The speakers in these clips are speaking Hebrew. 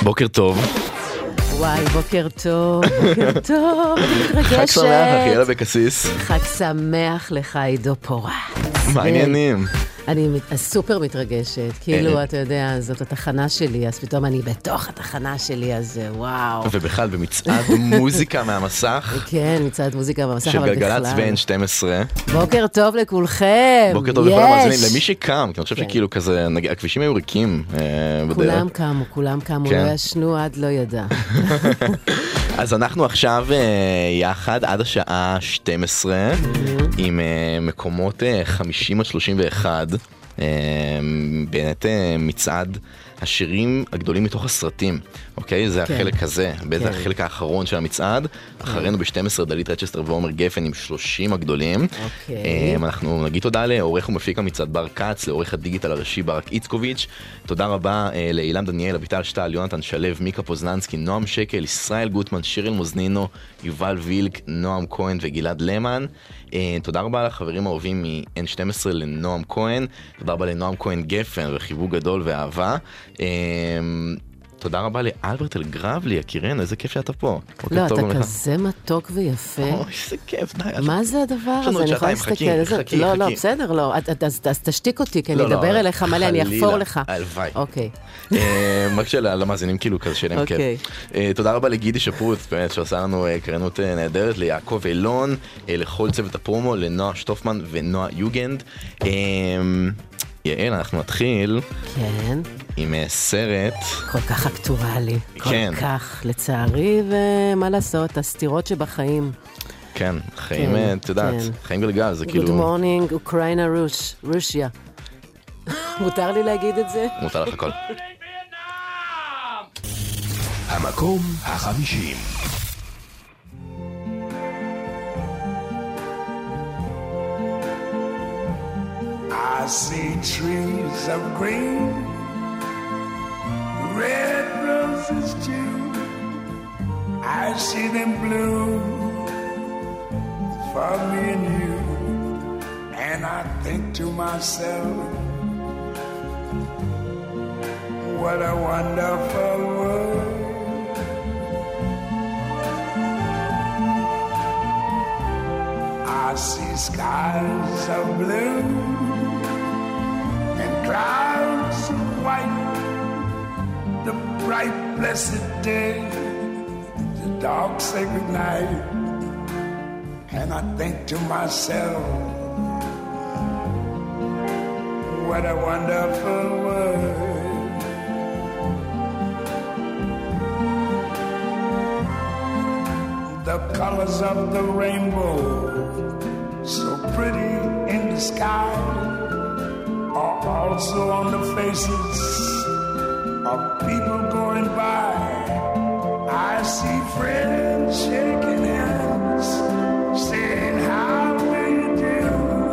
בוקר טוב. וואי, בוקר טוב, בוקר טוב, אני מתרגשת. חג שמח, אחי, יאללה בקסיס. חג שמח לך, עידו פורץ. מה העניינים? אני סופר מתרגשת, כאילו, אתה יודע, זאת התחנה שלי, אז פתאום אני בתוך התחנה שלי, אז וואו. ובכלל, במצעד מוזיקה מהמסך. כן, מצעד מוזיקה מהמסך, של אבל גלגלצ בכלל. ו-N12. בוקר טוב לכולכם. בוקר טוב לכל המאזינים, למי שקם, כי אני חושב שכאילו כזה, הכבישים היו ריקים בדרך. כולם קמו, לא ישנו עד לא ידע. אז אנחנו עכשיו יחד עד השעה 12 עם מקומות 50 עד 31, באמת מצעד השירים הגדולים מתוך הסרטים, אוקיי? זה החלק הזה, זה החלק האחרון של המצעד. אחרינו ב-12 דלית רצ'סטר ועומר גפן עם 30 הגדולים. אנחנו נגיד תודה לעורך ומפיק המצעד בר קץ, לעורך הדיגיטל הראשי ברק איצקוביץ'. תודה רבה לאילם דניאל, אביטל שטל, יונתן שלב, מיקה פוזננסקי, נועם שקל, ישראל גוטמן, שירל מוזנינו, יובל וילק, נועם כהן וגלעד למן. תודה רבה לחברים האהובים מ-N12 לנועם כהן, תודה רבה לנועם כהן גפן וחיבוק גדול ואהבה. תודה רבה לאלברט אלגרבלי, יקירנו, איזה כיף שאתה פה. לא, אתה כזה מתוק ויפה. אוי, איזה כיף, די. מה זה הדבר הזה? אני יכולה להסתכל. לא, בסדר, לא. אז תשתיק אותי, כי אני אדבר אליך מלא, אני אחפור לך. הלוואי. אוקיי. רק למאזינים כאילו כזה שלהם כיף. תודה רבה לגידי שפרוט, באמת, שעושה לנו קרנות נהדרת, ליעקב אילון, לכל צוות הפרומו, לנועה שטופמן ונועה יוגנד. יעל, אנחנו נתחיל עם סרט כל כך אקטואלי, כל כך לצערי, ומה לעשות, הסתירות שבחיים. כן, חיים, את יודעת, חיים גלגל, זה כאילו... Good morning, אוקראינה, רוסיה. מותר לי להגיד את זה? מותר לך הכל. המקום 50. I see trees of green, red roses too. I see them bloom for me and you. And I think to myself, what a wonderful world. I see skies of blue and clouds of white, the bright blessed day, the dark sacred night. And I think to myself, what a wonderful world. The colors of the rainbow, so pretty in the sky, are also on the faces of people going by. I see friends shaking hands, saying how do you do.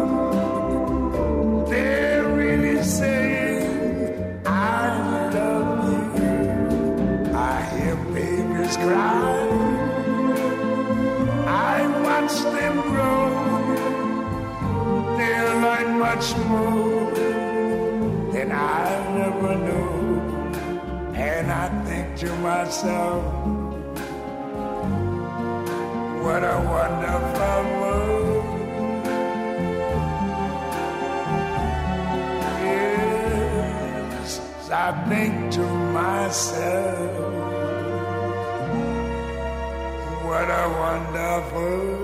They're really saying I love you. I hear babies cry, I watch them grow. They'll learn much more than I never knew. And I think to myself, what a wonderful world. Yes, I think to myself, what a wonderful world.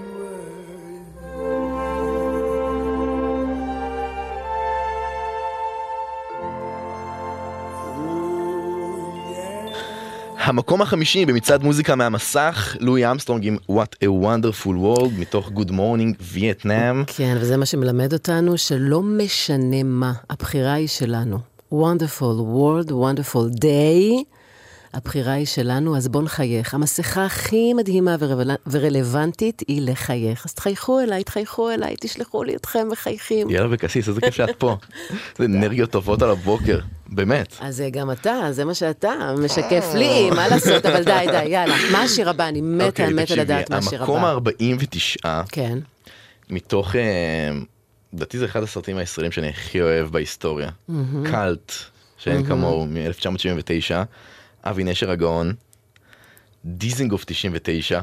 המקום החמישי במצעד מוזיקה מהמסך, לואי אמסטרונג עם What a Wonderful World מתוך Good Morning Vietnam. כן, וזה מה שמלמד אותנו, שלא משנה מה, הבחירה היא שלנו. Wonderful World, Wonderful Day, הבחירה היא שלנו, אז בוא נחייך. המסכה הכי מדהימה ורלוונטית היא לחייך. אז תחייכו אליי, תשלחו לי אתכם מחייכים. יאללה בקסיס, איזה כיף שאת פה. זה אנרגיות טובות על הבוקר, באמת. אז גם אתה, זה מה שאתה, משקף לי, מה לעשות, אבל די, יאללה. מה השיר הבא? אני מתה לדעת מה השיר הבא. המקום ה-49, כן. מתוך, לדעתי זה אחד הסרטים הישראלים שאני הכי אוהב בהיסטוריה. קלט, שאין כמוהו, מ-1979. אבי נשר הגאון, דיזינגוף 99,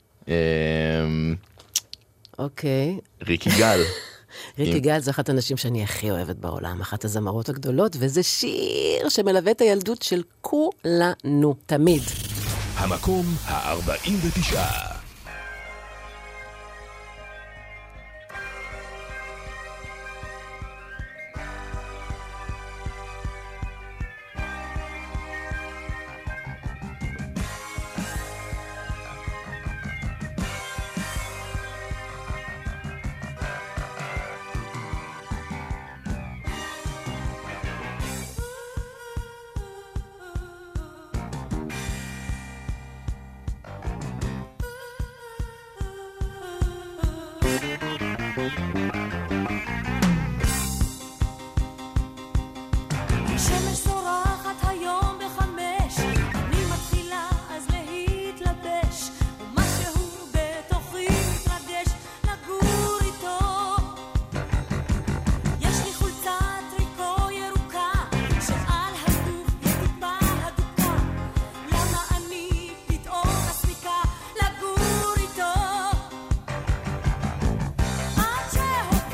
אוקיי. ריקי גל. ריקי גל זה אחת הנשים שאני הכי אוהבת בעולם, אחת הזמרות הגדולות, וזה שיר שמלווה את הילדות של כולנו, תמיד. המקום ה-49. Cheho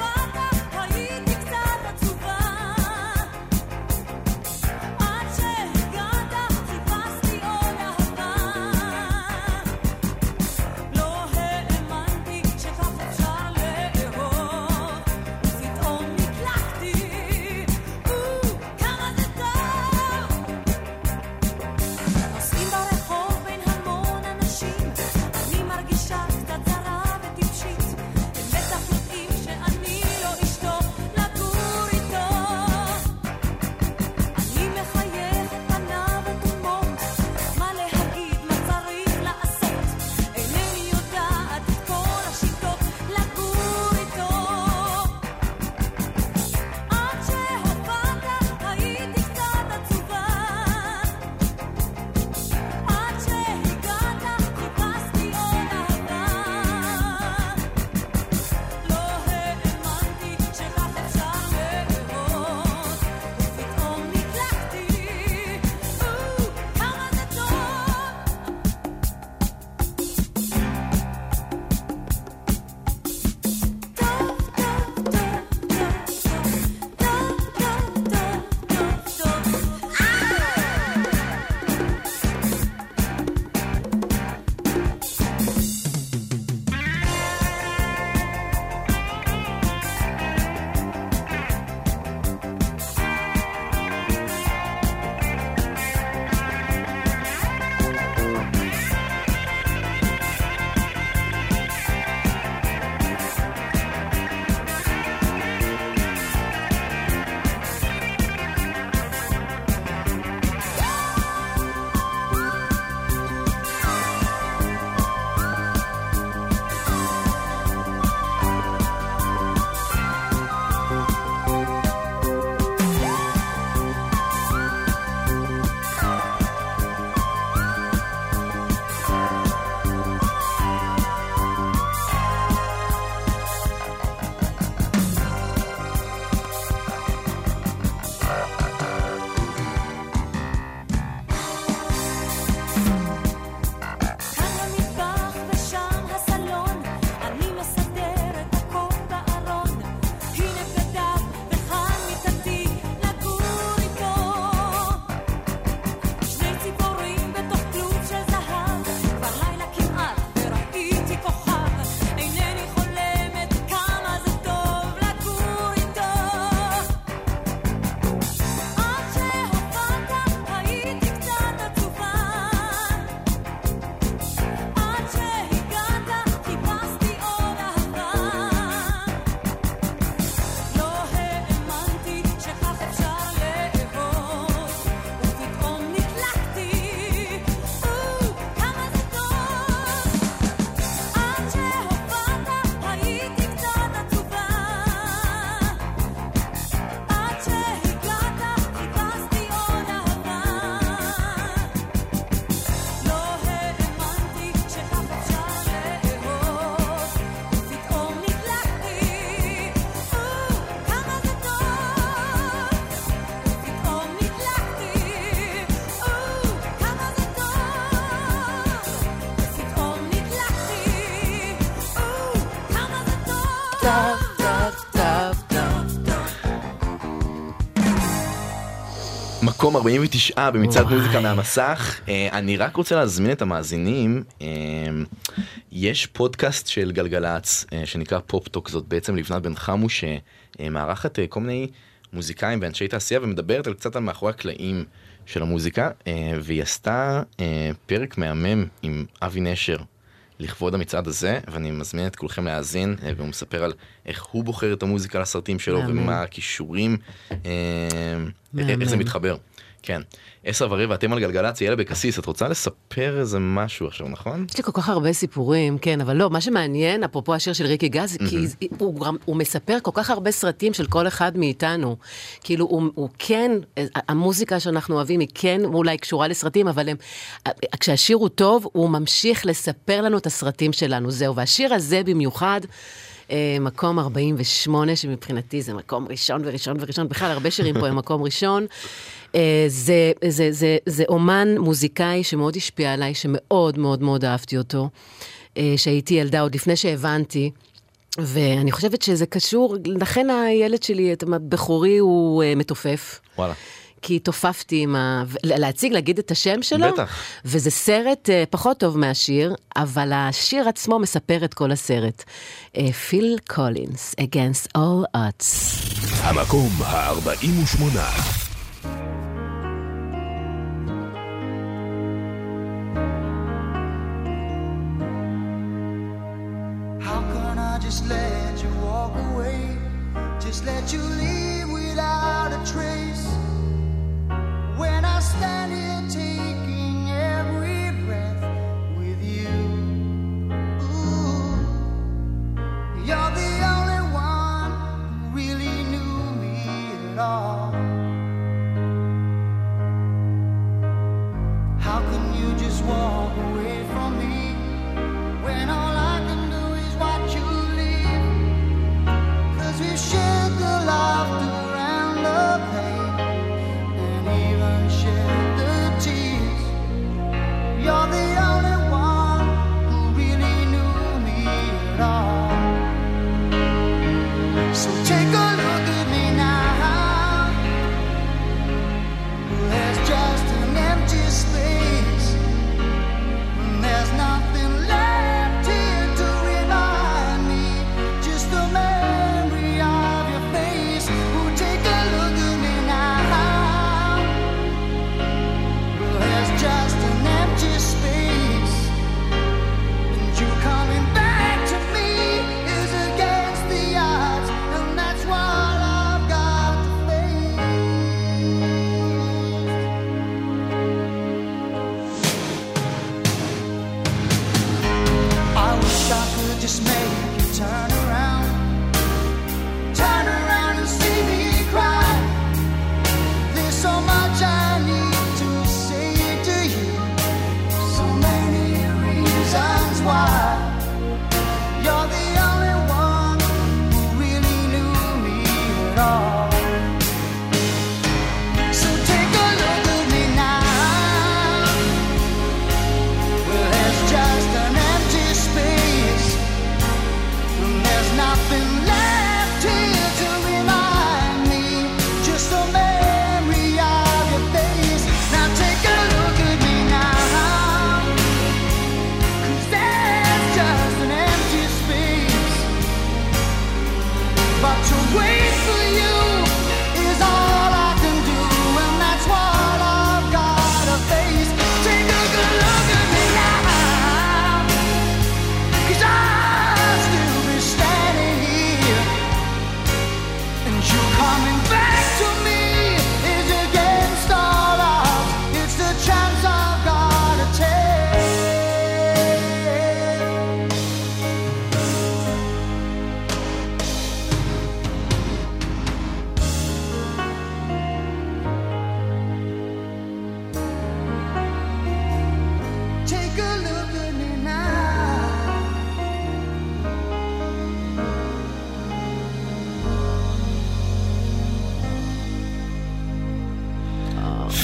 מקום 49 במצעד מוזיקה מהמסך. אני רק רוצה להזמין את המאזינים, יש פודקאסט של גלגלץ שנקרא פופ-טוק, זאת בעצם לבנת בן חמו שמערכת כל מיני מוזיקאים ואנשי תעשייה ומדברת על קצת על מאחורי הקלעים של המוזיקה, והיא עשתה פרק מהמם עם אבי נשר לכבוד המצעד הזה, ואני מזמין את כולכם להאזין, והוא מספר על איך הוא בוחר את המוזיקה לסרטים שלו, ומה הכישורים, איך זה מתחבר. כן. 10:15, אתם על גלגלצ, יאללה בקסיס, את רוצה לספר איזה משהו עכשיו, נכון? יש לי כל כך הרבה סיפורים, כן, אבל לא, מה שמעניין, אפרופו השיר של ריקי גז, כי הוא מספר כל כך הרבה סרטים של כל אחד מאיתנו. כאילו, הוא כן, המוזיקה שאנחנו אוהבים היא כן אולי קשורה לסרטים, אבל כשהשיר הוא טוב, הוא ממשיך לספר לנו את הסרטים שלנו, זהו. והשיר הזה במיוחד, מקום 48, שמבחינתי זה מקום ראשון וראשון וראשון, בכלל הרבה שירים פה הם מקום ראשון. זה אומן מוזיקאי שמאוד השפיע עליי, שמאוד מאוד מאוד אהבתי אותו, שהייתי ילדה עוד לפני שהבנתי, ואני חושבת שזה קשור, לכן הילד שלי, את הבחורי הוא מתופף. וואלה. כי תופפתי עם להציג, להגיד את השם שלו. בטח. וזה סרט פחות טוב מהשיר, אבל השיר עצמו מספר את כל הסרט. פיל קולינס, Against All Odds. המקום ה-48. How can I just let you walk away? Just let you leave without a trace? When I stand here taking every breath with you, ooh, you're the only one who really knew me at all. How can you just walk away from me when all I can do is watch you leave? 'Cause we've shared the laughter and the pain, and even shared the tears. You're the only one who really knew me at all. So take a look at me now. There's just an empty space, and there's nothing left here.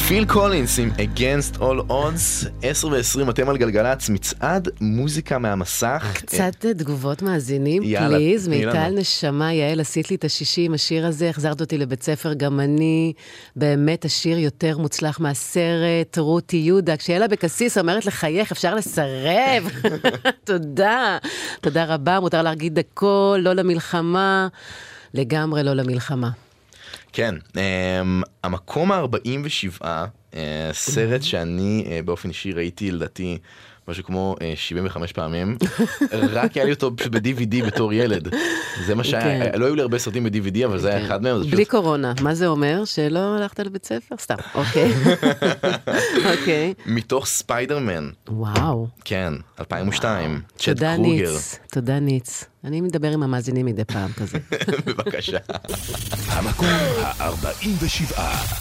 פיל קולינס עם Against All Odds, 10:20, אתם על גלגלצ, מצעד מוזיקה מהמסך. קצת תגובות מאזינים, יאללה, פליז, תני לנו. מיטל נשמה, יעל, עשית לי את ה-60, השיר הזה, החזרת אותי לבית ספר, גם אני, באמת השיר יותר מוצלח מהסרט, רותי יהודה, כשיאלה בקסיס אומרת לחייך, אפשר לסרב. תודה, תודה רבה, מותר להגיד הכל, לא למלחמה, לגמרי לא למלחמה. כן, המקום ה-47, סרט שאני באופן אישי ראיתי לדעתי משהו כמו 75 פעמים, רק היה לי אותו פשוט ב-DVD בתור ילד. זה מה שהיה, לא היו לי הרבה סרטים ב-DVD, אבל זה היה אחד מהם. בלי קורונה, מה זה אומר? שלא הלכת לבית ספר? סתם, אוקיי. אוקיי. מתוך ספיידרמן. וואו. כן, 2002. צ'ד תודה קרוגר. ניץ, תודה ניץ. אני מדבר עם המאזינים מדי פעם כזה. בבקשה. המקום ה-47.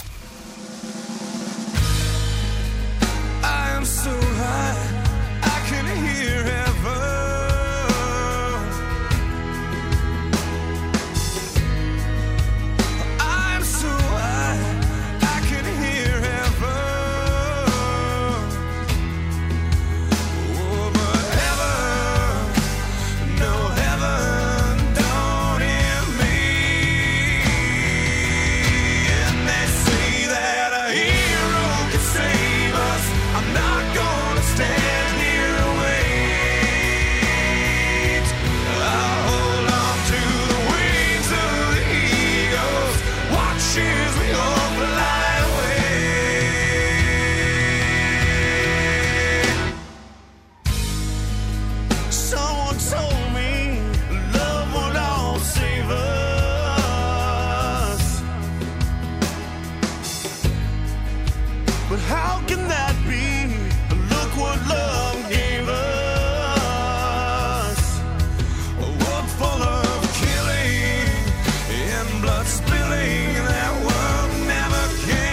I am so high, I can hear heaven. I'm so high, I can hear heaven. Oh, but heaven, no heaven, don't hear me. And they say that a hero can save us. I'm not gonna stand here and wait. I'll hold on to the wings of the eagles, watch as we all fly away. Someone told me love would all save us, but how can that be? Look what love gave us. A world full of killing and blood spilling. That world never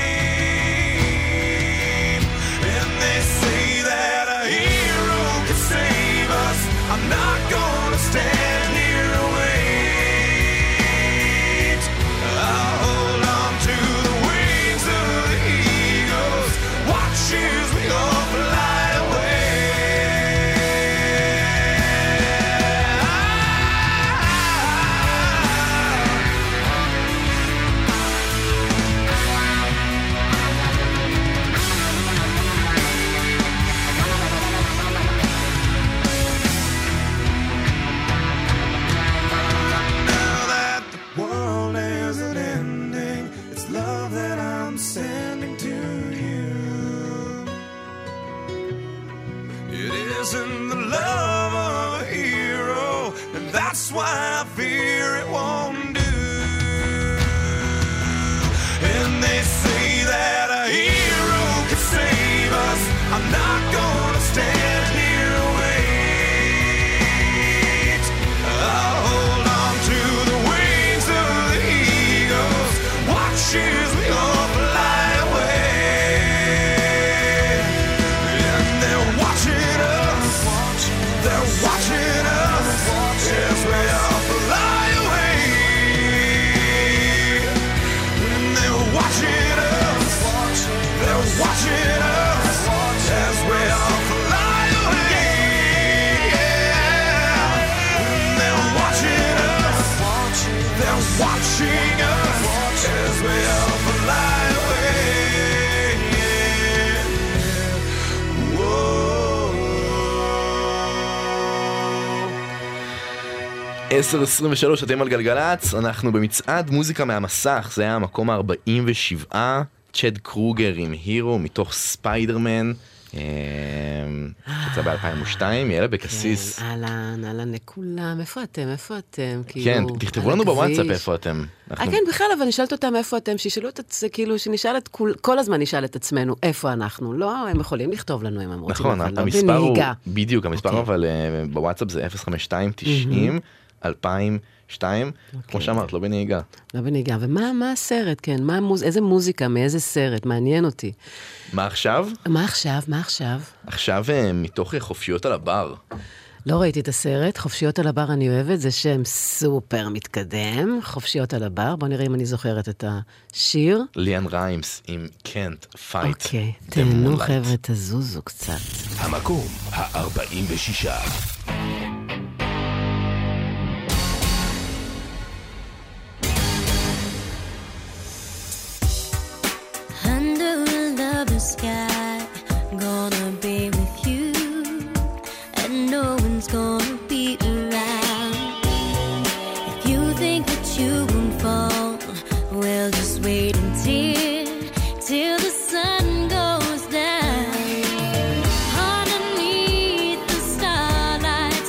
came. And they say that a hero can save us. I'm not gonna stand here and wait. I'll hold on to the wings of the eagles, watch as we all fly away. Now that the world isn't ending, it's love that I'm sending to you. It isn't the love of a hero, and that's why I fear it won't do. And they say that a hero can save us. I'm not gonna stand here and wait. I'll hold on to the wings of the eagles, watch as we all fly away. And they're watching us, they're watching us as we all fly away. And they're watching us, they're watching us as we all fly away. And they're watching us, they're watching us as we all fly away. Whoa. 10:23, אתם על גלגלצ, אנחנו במצעד מוזיקה מהמסך, זה היה המקום ה-47, צ'ד קרוגר עם הירו מתוך ספיידרמן, יצא ב-2002, יאללה בקסיס. אהלן, אהלן לכולם, איפה אתם? איפה אתם? כן, כאילו, תכתבו על לנו הכביש. בוואטסאפ איפה אתם. אנחנו- כן, בכלל, אבל נשאלת אותם איפה אתם, שישאלו את זה, כאילו, שנשאל את כל הזמן נשאל את עצמנו, איפה אנחנו? לא, הם יכולים לכתוב לנו אם הם רוצים, נכון, אבל לא המספר הוא, בנהיגה. בדיוק, המספר אוקיי. אבל בוואטסאפ זה 052-90-2002, כמו שאמרת, לא בנהיגה. לא בנהיגה. ומה הסרט, כן? איזה מוזיקה, מאיזה סרט? מעניין אותי. מה עכשיו? מה עכשיו? מה עכשיו? עכשיו מתוך חופשיות על הבר. לא ראיתי את הסרט, חופשיות על הבר אני אוהבת, זה שם סופר מתקדם, חופשיות על הבר, בוא נראה אם אני זוכרת את השיר. ליאן ריימס עם Can't Fight. אוקיי, תהנו חבר'ה, תזוזו קצת. המקום ה-46. Under a lover's sky, gonna be with you, and no one's gonna be around. If you think that you won't fall, well, just wait till the sun goes down. Underneath the starlight,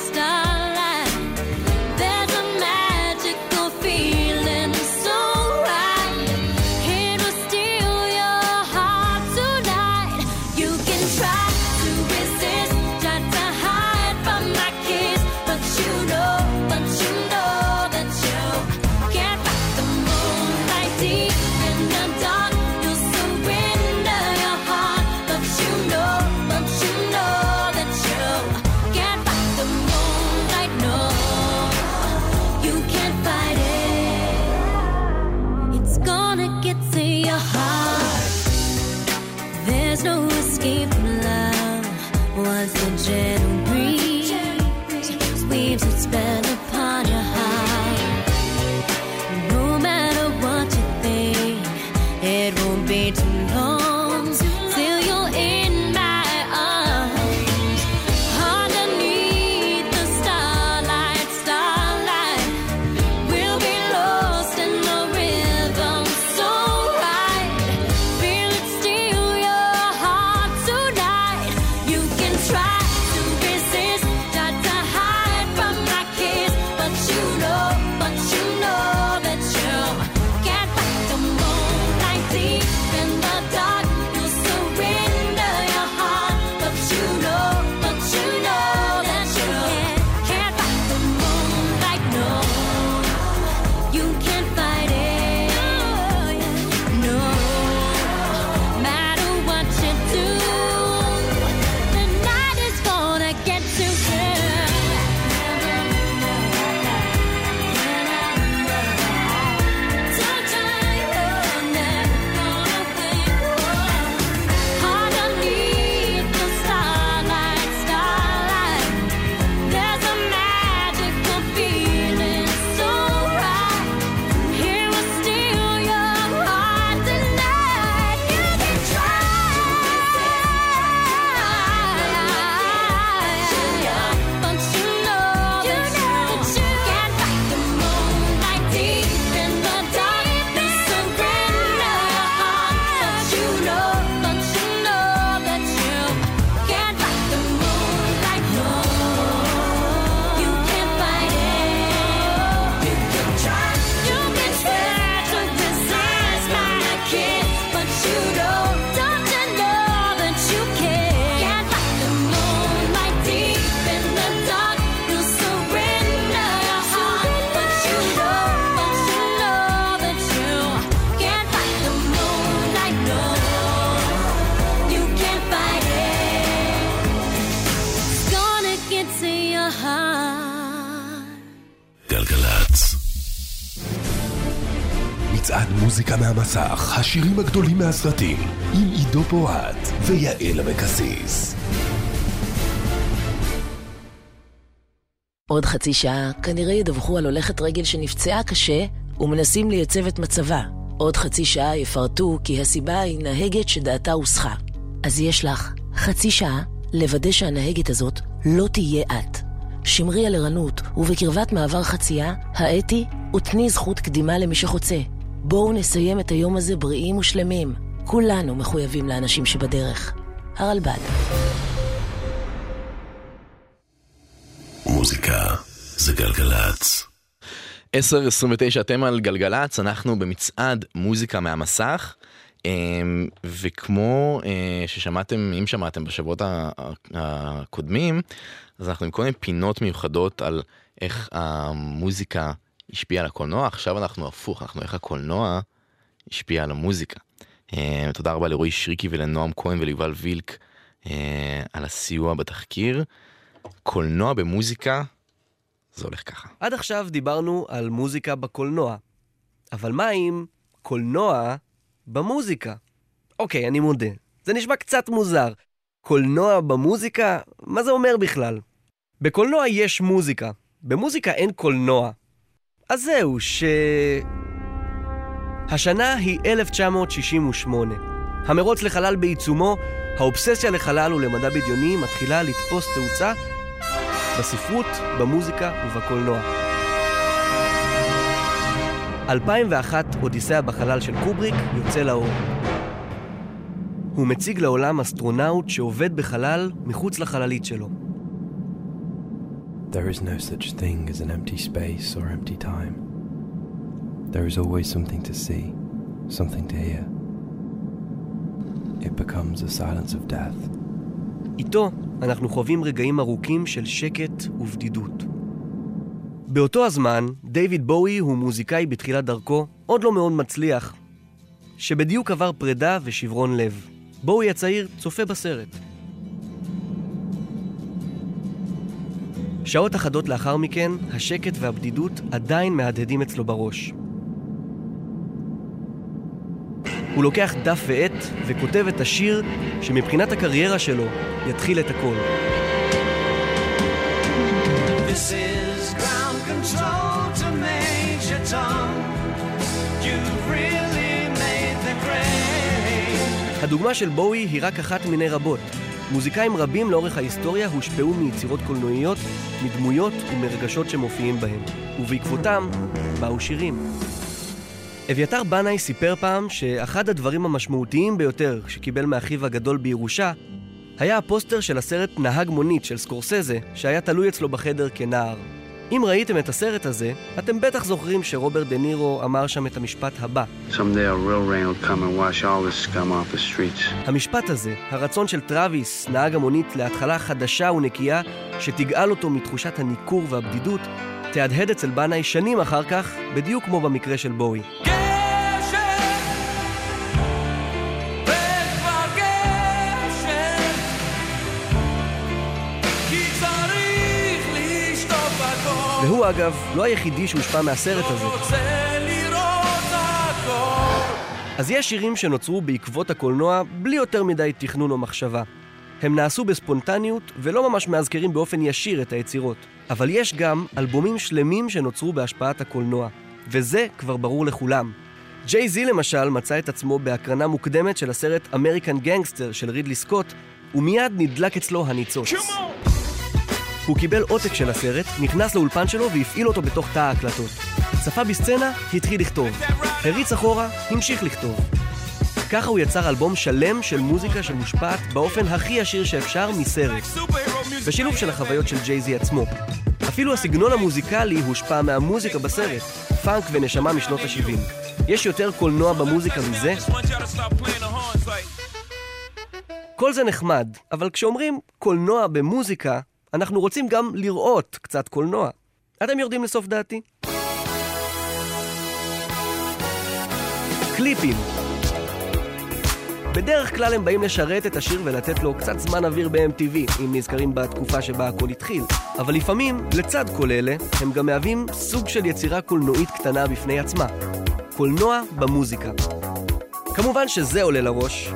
there's a magical feeling so right. It will steal your heart tonight. You can try to resist, try to hide from my kiss, but you know that you can't fight the moonlight deep in the dark. You'll surrender your heart, but you know that you can't fight the moonlight. No, you can't fight it. It's gonna get to your heart. There's no escape from love. Once the gentle breeze weaves its spell upon your heart, no matter what you think, it won't be too long till you're in my arms. Underneath the starlight, we'll be lost in the rhythm so right. Feel it steal your heart tonight. You can try to resist, try to hide from my kiss, but you know that you can't fight the moonlight deep in the dark. You'll surrender your heart, but you know that you can't fight the moonlight. No, you can't fight it. No, matter what you do, the night is gonna get you underneath the starlight, there's a magical feeling so right. Here will steal your heart tonight. You can try, but you know that you can't fight the moonlight deep in the dark. You surrender your heart, but you know that you can't fight the moonlight. No, you can't fight it. You can try to resist my kiss, but you don't you know that you can't fight the moonlight deep in the dark. You surrender your heart, but you know that you can't fight the moonlight. No, you can't fight it. It's gonna get to your heart. גלגלצ. מצעד מוזיקה מהמסך, השירים הגדולים מהסרטים, עם עידו פורט ויעל אבקסיס. עוד חצי שעה כנראה ידווחו על הולכת רגל שנפצעה קשה ומנסים לייצב את מצבה. עוד חצי שעה יפרטו כי הסיבה היא נהגת שדעתה הוסחה. אז יש לך חצי שעה לוודא שהנהגת הזאת לא תהיה את. שמרי על ערנות ובקרבת מעבר חצייה, האתי ותני זכות קדימה למי שחוצה. בואו נסיים את היום הזה בריאים ושלמים. כולנו מחויבים לאנשים שבדרך. הרלב"ד. מוזיקה זה גלגלצ. 10:29 אתם על גלגלצ, אנחנו במצעד מוזיקה מהמסך, וכמו ששמעתם, אם שמעתם בשבועות הקודמים, אז אנחנו עם כל מיני פינות מיוחדות על איך המוזיקה השפיעה על הקולנוע. עכשיו אנחנו הפוך, אנחנו איך הקולנוע השפיע על המוזיקה. תודה רבה לרועי שריקי ולנועם כהן וליובל וילק על הסיוע בתחקיר. קולנוע במוזיקה, זה הולך ככה. עד עכשיו דיברנו על מוזיקה בקולנוע. אבל מה עם קולנוע במוזיקה? אוקיי, אני מודה. זה נשמע קצת מוזר. קולנוע במוזיקה? מה זה אומר בכלל? בקולנוע יש מוזיקה. במוזיקה אין קולנוע. אז זהו, השנה היא 1968. המרוץ לחלל בעיצומו, האובססיה לחלל ולמדע בדיוני מתחילה לתפוס תאוצה בספרות, במוזיקה ובקולנוע. 2001, אודיסאה בחלל של קובריק יוצא לאור. הוא מציג לעולם אסטרונאוט שעובד בחלל מחוץ לחללית שלו. There is no such thing as an empty space or empty time. There is always something to see, something to hear. It becomes a silence of death. איתו אנחנו חווים רגעים ארוכים של שקט ובדידות. באותו הזמן, דיוויד בואי הוא מוזיקאי בתחילת דרכו, עוד לא מאוד מצליח, שבדיוק עבר פרידה ושברון לב. בואי הצעיר צופה בסרט. שעות אחדות לאחר מכן, השקט והבדידות עדיין מהדהדים אצלו בראש. הוא לוקח דף ועט וכותב את השיר שמבחינת הקריירה שלו יתחיל את הכל. This is ground control to Major Tom. You've really made the grade. הדוגמה של בואי היא רק אחת מיני רבות. מוזיקאים רבים לאורך ההיסטוריה הושפעו מיצירות קולנועיות, מדמויות ומרגשות שמופיעים בהם, ובעקבותם באו שירים. אביתר בנאי סיפר פעם שאחד הדברים המשמעותיים ביותר שקיבל מאחיו הגדול בירושה היה הפוסטר של הסרט נהג מונית של סקורסזה שהיה תלוי אצלו בחדר כנער. אם ראיתם את הסרט הזה, אתם בטח זוכרים שרוברט דה נירו אמר שם את המשפט הבא. Someday a real rain will come and wash all this scum off the streets. המשפט הזה, הרצון של טראביס, נהג המונית, להתחלה חדשה ונקייה שתגאל אותו מתחושת הניכור והבדידות, תהדהד אצל בנאי שנים אחר כך, בדיוק כמו במקרה של בואי. והוא אגב לא היחידי שהושפע מהסרט הזה. אז יש שירים שנוצרו בעקבות הקולנוע בלי יותר מדי תכנון או מחשבה. הם נעשו בספונטניות ולא ממש מאזכרים באופן ישיר את היצירות. אבל יש גם אלבומים שלמים שנוצרו בהשפעת הקולנוע, וזה כבר ברור לכולם. ג'יי זי למשל מצא את עצמו בהקרנה מוקדמת של הסרט אמריקן גנגסטר של רידלי סקוט, ומיד נדלק אצלו הניצוץ. הוא קיבל עותק של הסרט, נכנס לאולפן שלו והפעיל אותו בתוך תא ההקלטות. צפה בסצנה, התחיל לכתוב. הריץ אחורה, המשיך לכתוב. ככה הוא יצר אלבום שלם של מוזיקה שמושפעת באופן הכי ישיר שאפשר מסרט. בשילוב של החוויות של ג'יי זי עצמו. אפילו הסגנון המוזיקלי הושפע מהמוזיקה בסרט, פאנק ונשמה משנות ה-70. יש יותר קולנוע במוזיקה מזה? כל זה נחמד, אבל כשאומרים קולנוע במוזיקה, אנחנו רוצים גם לראות קצת קולנוע. אתם יורדים לסוף דעתי? קליפים. בדרך כלל הם באים לשרת את השיר ולתת לו קצת זמן אוויר ב-MTV, אם נזכרים בתקופה שבה הכל התחיל. אבל לפעמים, לצד כל אלה, הם גם מהווים סוג של יצירה קולנועית קטנה בפני עצמה. קולנוע במוזיקה. כמובן שזה עולה לראש.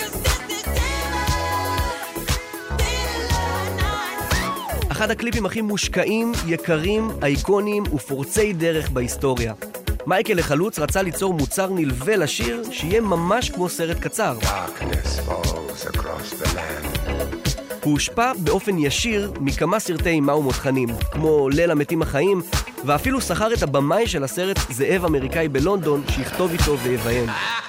אחד הקליפים הכי מושקעים, יקרים, אייקוניים ופורצי דרך בהיסטוריה. מייקל החלוץ רצה ליצור מוצר נלווה לשיר שיהיה ממש כמו סרט קצר. הוא הושפע באופן ישיר מכמה סרטי אימה ומותחנים, כמו ליל המתים החיים, ואפילו שכר את הבמאי של הסרט זאב אמריקאי בלונדון שיכתוב איתו ויביים.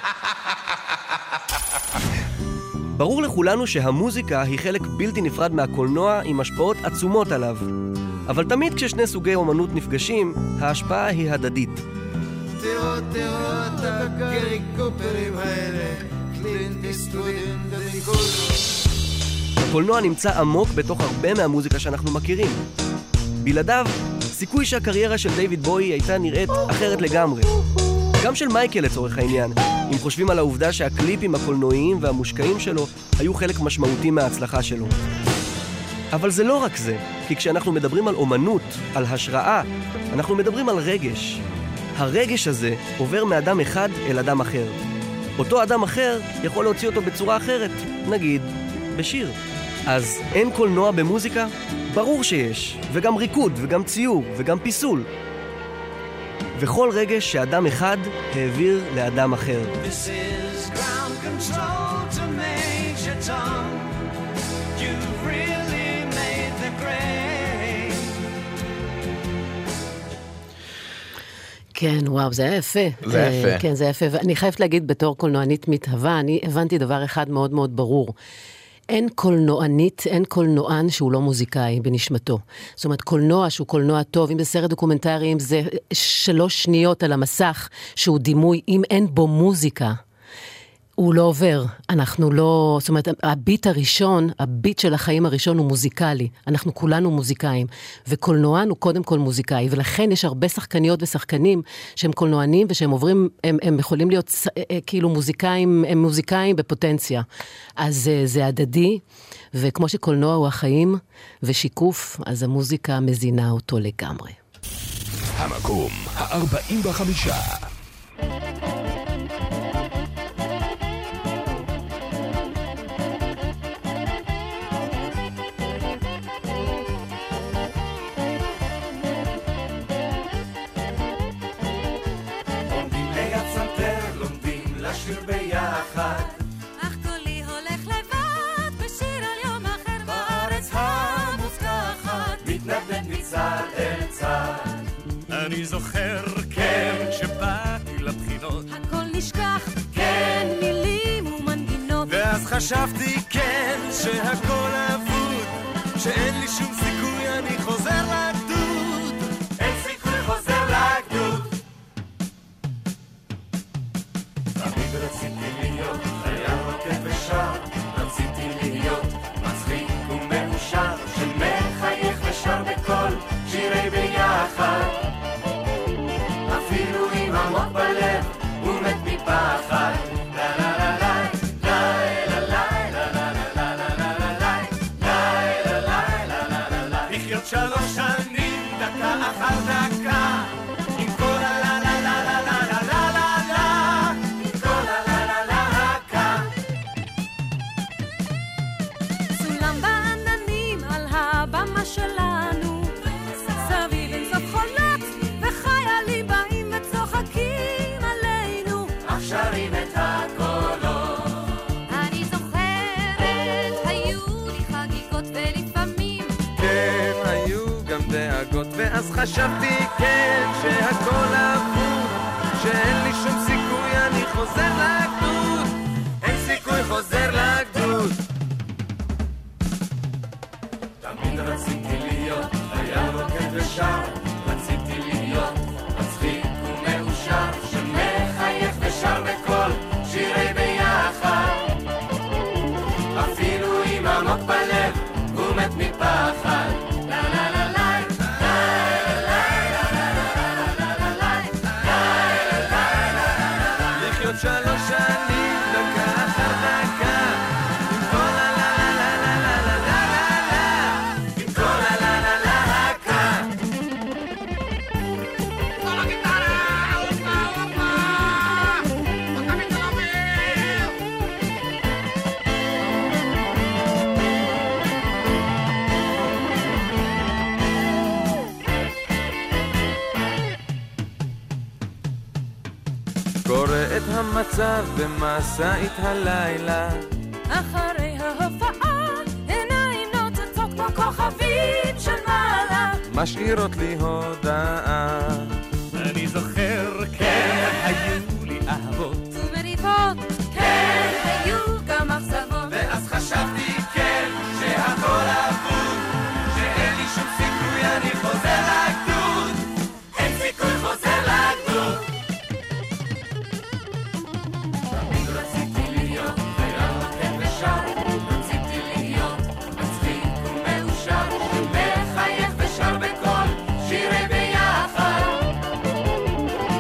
ברור לכולנו שהמוזיקה היא חלק בלתי נפרד מהקולנוע עם השפעות עצומות עליו. אבל תמיד כששני סוגי אומנות נפגשים, ההשפעה היא הדדית. תראו את הגריקופרים האלה, קלינט איסטווד וניקול. הקולנוע נמצא עמוק בתוך הרבה מהמוזיקה שאנחנו מכירים. בלעדיו, סיכוי שהקריירה של דיוויד בואי הייתה נראית אחרת לגמרי. גם של מייקל לצורך העניין, אם חושבים על העובדה שהקליפים הקולנועיים והמושקעים שלו היו חלק משמעותי מההצלחה שלו. אבל זה לא רק זה, כי כשאנחנו מדברים על אומנות, על השראה, אנחנו מדברים על רגש. הרגש הזה עובר מאדם אחד אל אדם אחר. אותו אדם אחר יכול להוציא אותו בצורה אחרת, נגיד, בשיר. אז אין קולנוע במוזיקה? ברור שיש, וגם ריקוד, וגם ציור, וגם פיסול. וכל רגש שאדם אחד העביר לאדם אחר. This is ground control to Major Tom. You've really made the grade. כן, וואו, זה היה יפה. זה יפה. כן, זה יפה. ואני חייבת להגיד, בתור קולנוענית מתהווה, אני הבנתי דבר אחד מאוד מאוד ברור. אין קולנוענית, אין קולנוען שהוא לא מוזיקאי בנשמתו. זאת אומרת, קולנוע שהוא קולנוע טוב, אם זה סרט דוקומנטרי, אם זה 3 שניות על המסך שהוא דימוי, אם אין בו מוזיקה, הוא לא עובר. אנחנו לא, זאת אומרת, הביט הראשון, הביט של החיים הראשון הוא מוזיקלי. אנחנו כולנו מוזיקאים. וקולנוען הוא קודם כל מוזיקאי. ולכן יש הרבה שחקניות ושחקנים שהם קולנוענים ושהם עוברים, הם יכולים להיות כאילו מוזיקאים, הם מוזיקאים בפוטנציה. אז זה הדדי, וכמו שקולנוע הוא החיים ושיקוף, אז המוזיקה מזינה אותו לגמרי. המקום ה-45. אני זוכר, כן, כשבאתי לבחינות הכל נשכח, כן, מילים ומנגינות ואז חשבתי, כן, שהכל אבוד שאין לי שום סיכוי, אני חוזר לגדוד אין סיכוי, חוזר לגדוד תמיד רציתי להיות חייל רוקד ושר רציתי להיות מצחיק ומאושר שמחייך ושר בכל שירי ביחד אפילו עם עמוק בלב הוא מת מפחד לה לה לה לה לה לה לה לה לה לה לה לה לה לה לה לחיות 3 שנים דקה אחר דקה עם כל הלה לה לה לה לה לה לה לה עם כל הלה לה לה לה סולם בעננים על הבמה שלנו סביב אינסוף חולות וחיילים באים וצוחקים עלינו שרים את הקולות אני זוכרת היו לי חגיגות ולפעמים כן, היו גם דאגות ואז חשבתי, כן, שהכל אבוד שאין לי שום סיכוי, אני חוזר לגדוד אין סיכוי, חוזר לגדוד תמיד רציתי להיות חייל רוקד ושר רציתי להיות מצחיק ומאושר שמחייך ושר בכל שירי ביחד אפילו עם עמוק בלב הוא מת מפחד לה לה לה לה לחיות 3 שנים דקה אחר דקה עם כל הלה לה לה לה לה לה לה עם כל הלה לה לה לה כל הגיטרה אופה אופה ותמיד תלמיר קורא את המצב במסעית הלילה אחרי ההופעה עיניים נוצצות כמו כוכבים של מעלה משאירות לי הודעה אני זוכר, כן, היו לי אהבות ומריבות כן, היו גם אכזבות ואז חשבתי, כן, שהכל אבוד שאין לי שום סיכוי, אני חוזר לגדוד אין סיכוי, חוזר לגדוד תמיד רציתי להיות חייל רוקד ושר רציתי להיות מצחיק ומאושר שמחייך ושר בכל שירי ביחד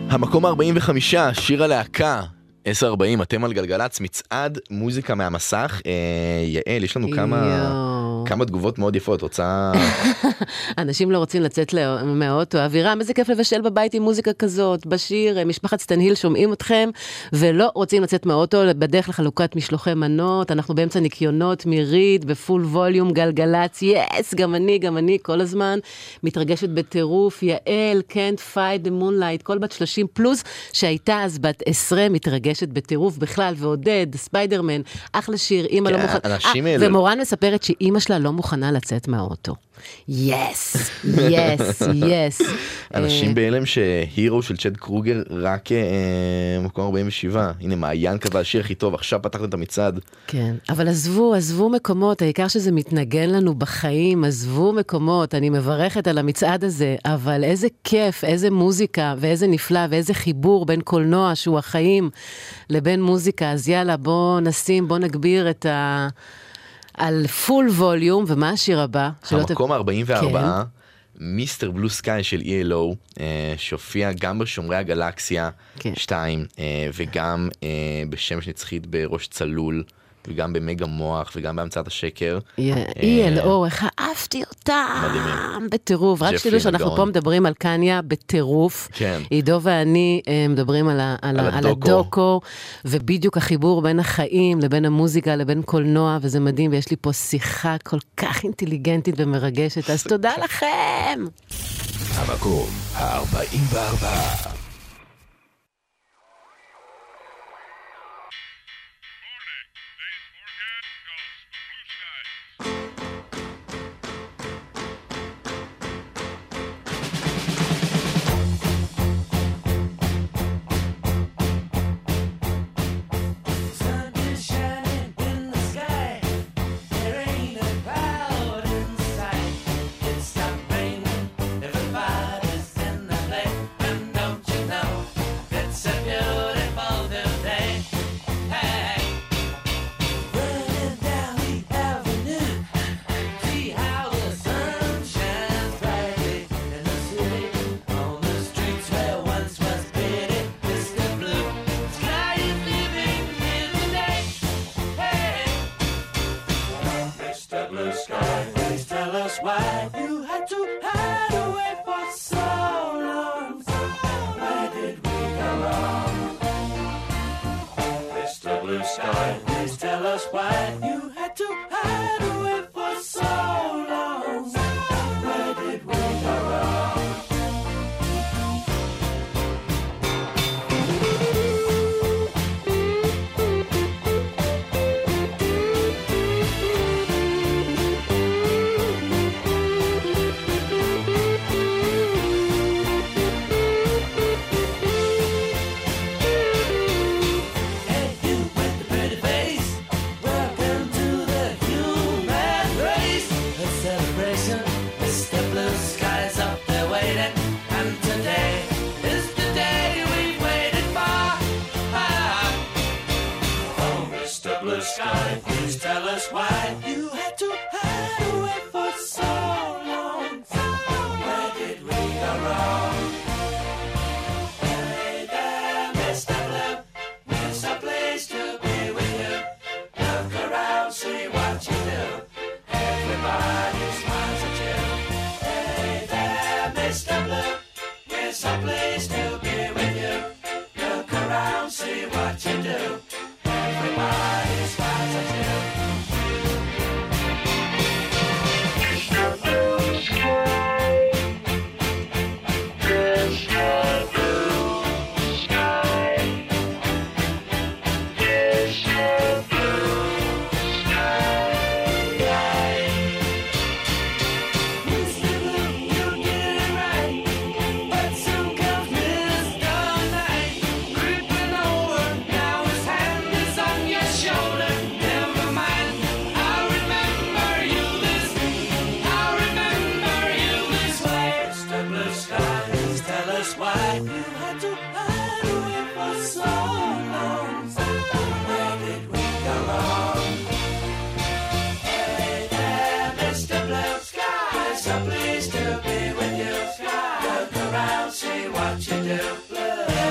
המקום 45, שיר הלהקה, 10:40, אתם על גלגלץ, מצעד מוזיקה מהמסך. יעל, יש לנו כמה תגובות מאוד יפות, רוצה... אנשים לא רוצים לצאת מהאוטו. אווירם, איזה כיף לבשל בבית עם מוזיקה כזאת, בשיר, משפחת סטנהיל שומעים אתכם, ולא רוצים לצאת מהאוטו, בדרך לחלוקת משלוחי מנות, אנחנו באמצע ניקיונות, מירית, בפול ווליום, גלגלץ, יס, גם אני, כל הזמן, מתרגשת בטירוף, יעל, can't fight the moonlight, כל בת 30 פלוס, שהייתה אז בת 10, מתרגשת בטירוף בכלל, ועודד, ספיידרמן, אחלה שיר, אמא לא מוכנה, ומורן מספרת שאמא שלה לא מוכנה לצאת מהאוטו. יס. אנשים בהלם שהירו של צ'ד קרוגר רק מקום 47. הנה, מעיין קבע השיר הכי טוב, עכשיו פתחת את המצעד. כן, אבל עזבו מקומות, העיקר שזה מתנגן לנו בחיים, עזבו מקומות, אני מברכת על המצעד הזה, אבל איזה כיף, איזה מוזיקה, ואיזה נפלא, ואיזה חיבור בין קולנוע שהוא החיים, לבין מוזיקה. אז יאללה, בוא נגביר את על פול ווליום, ומה השיר הבא? המקום 44, מיסטר בלו סקאי של ELO, שהופיע גם בשומרי הגלקסיה 2, וגם בשמש נצחית בראש צלול, וגם במגה מוח, וגם בהמצאת השקר. ELO, איך אהבתי אותם בטירוף. רק שתדעו שאנחנו פה מדברים על קניה בטירוף. עידו ואני מדברים על הדוקו, ובדיוק החיבור בין החיים לבין המוזיקה לבין קולנוע, וזה מדהים, ויש לי פה שיחה כל כך אינטליגנטית ומרגשת, אז תודה לכם. המקום 44. Pleased to be with you. Look around, see what you do.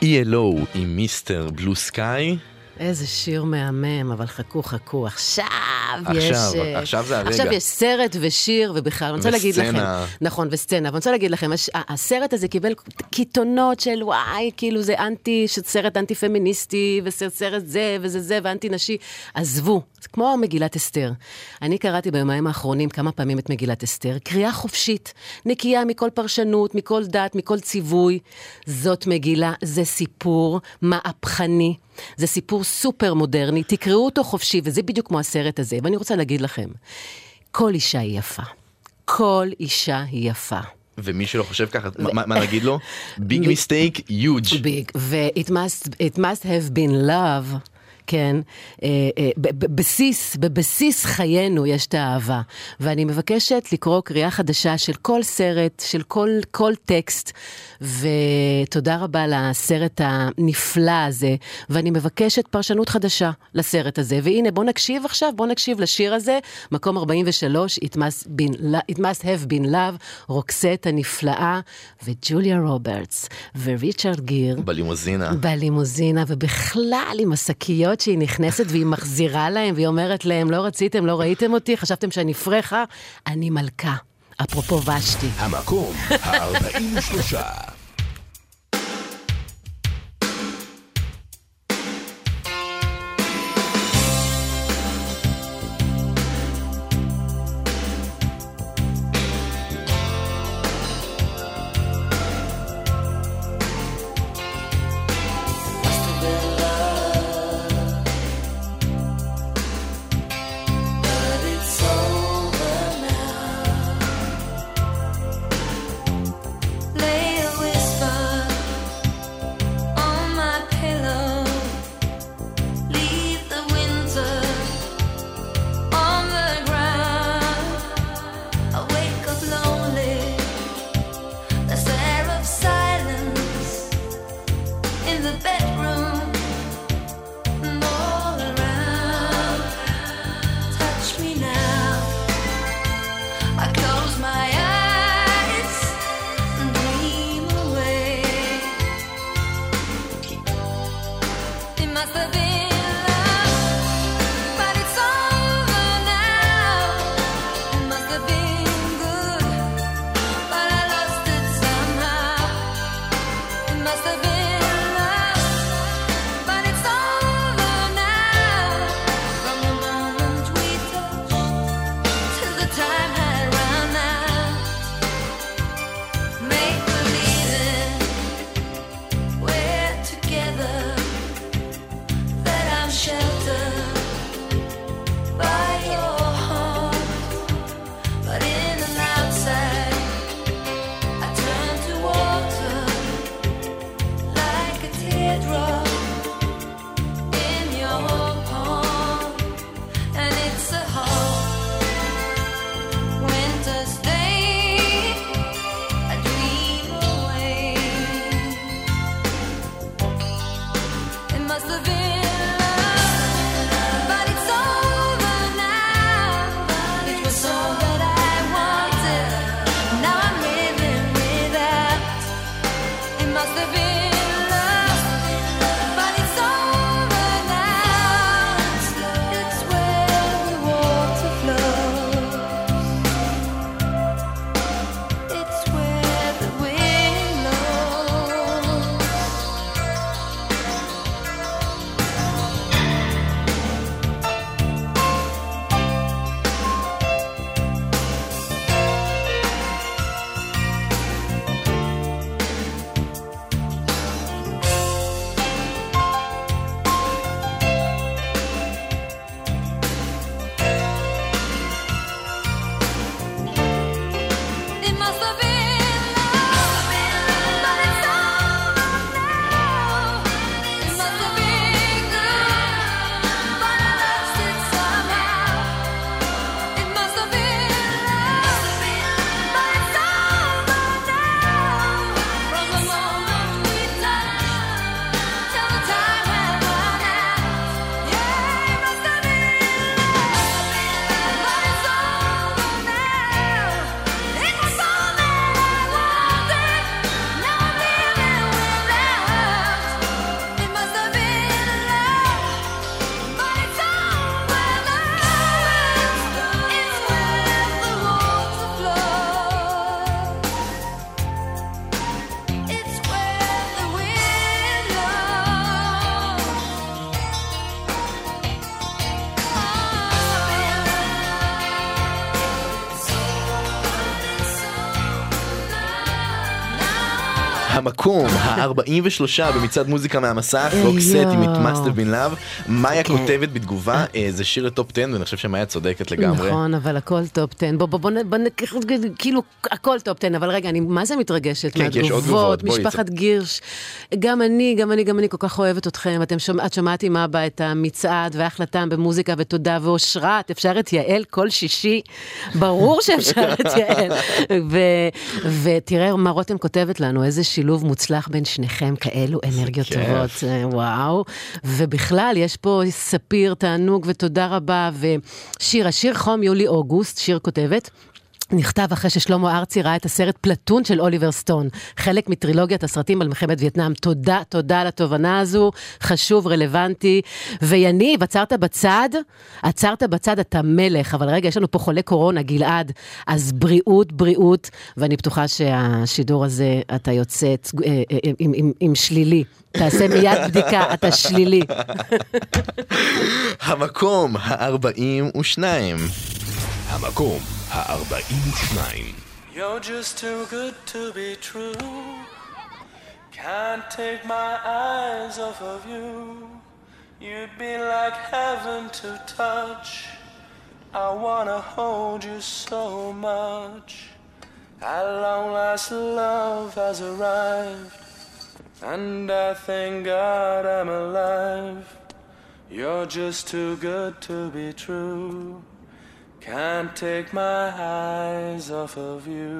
ELO עם מיסטר בלו סקאי. איזה שיר מהמם, אבל חכו, עכשיו זה הרגע. עכשיו יש סרט ושיר ובכלל, אני רוצה להגיד לכם, נכון, וסצנה, אבל אני רוצה להגיד לכם, הסרט הזה קיבל קיתונות של וואי, כאילו זה סרט אנטי פמיניסטי, וסרט זה וזה זה, ואנטי נשי, עזבו, זה כמו מגילת אסתר. אני קראתי ביומיים האחרונים כמה פעמים את מגילת אסתר, קריאה חופשית, נקייה מכל פרשנות, מכל דת, מכל ציווי, זאת מגילה, זה סיפור מהפכני, זה סיפור סופר מודרני, תקראו אותו חופשי, וזה בדיוק כמו הסרט הזה. ואני רוצה להגיד לכם, כל אישה היא יפה. כל אישה היא יפה. ומי שלא חושב ככה, מה נגיד לו? Big mistake, huge. Big, ו-it must have been love. כן, בבסיס חיינו יש את האהבה, ואני מבקשת לקרוא קריאה חדשה של כל סרט, של כל טקסט, ותודה רבה לסרט הנפלא הזה, ואני מבקשת פרשנות חדשה לסרט הזה, והנה בוא נקשיב לשיר הזה, מקום 43, It must have been love, רוקסט הנפלאה, וג'וליה רוברטס, וריצ'רד גיר, בלימוזינה, ובכלל עם השקיות שהיא נכנסת והיא מחזירה להם, והיא אומרת להם, לא רציתם, לא ראיתם אותי, חשבתם שאני פרחה, אני מלכה. אפרופו ושתי. המקום ה-43. Lay away. המקום ה-43 במצעד מוזיקה מהמסך, רוקסט עם It Must Have Been Love. מאיה כותבת בתגובה, זה שיר לטופ 10, ואני חושב שמאיה צודקת לגמרי. נכון, אבל הכל טופ 10. בוא כאילו, הכל טופ 10, אבל רגע, אני מה זה מתרגשת מהתגובות, משפחת גירש. גם אני כל כך אוהבת אתכם. את שמעת עם אבא את המצעד וההחלטה במוזיקה ותודה ואושרת. אפשר את יעל כל שישי. ברור שאפשר את יעל. ותראה מה רותם כותבת לנו, איזה שילוב מוצלח בין שניכם, כאלו אנרגיות טובות, וואו. ובכלל, יש פה ספיר, תענוג ותודה רבה, ושיר, השיר חום יולי-אוגוסט, שיר כותבת, נכתב אחרי ששלמה ארצי ראה את הסרט פלטון של אוליבר סטון, חלק מטרילוגיית הסרטים על מלחמת וייטנאם. תודה על התובנה הזו, חשוב, רלוונטי. ויניב, עצרת בצד, אתה מלך, אבל רגע, יש לנו פה חולה קורונה, גלעד, אז בריאות, ואני בטוחה שהשידור הזה, אתה יוצא עם שלילי. תעשה מיד בדיקה, אתה שלילי. המקום ה-42. המקום ה-42. You're just too good to be true. Can't take my eyes off of you. You'd be like heaven to touch. I wanna hold you so much. At long last love has arrived, and I thank God I'm alive. You're just too good to be true. Can't take my eyes off of you.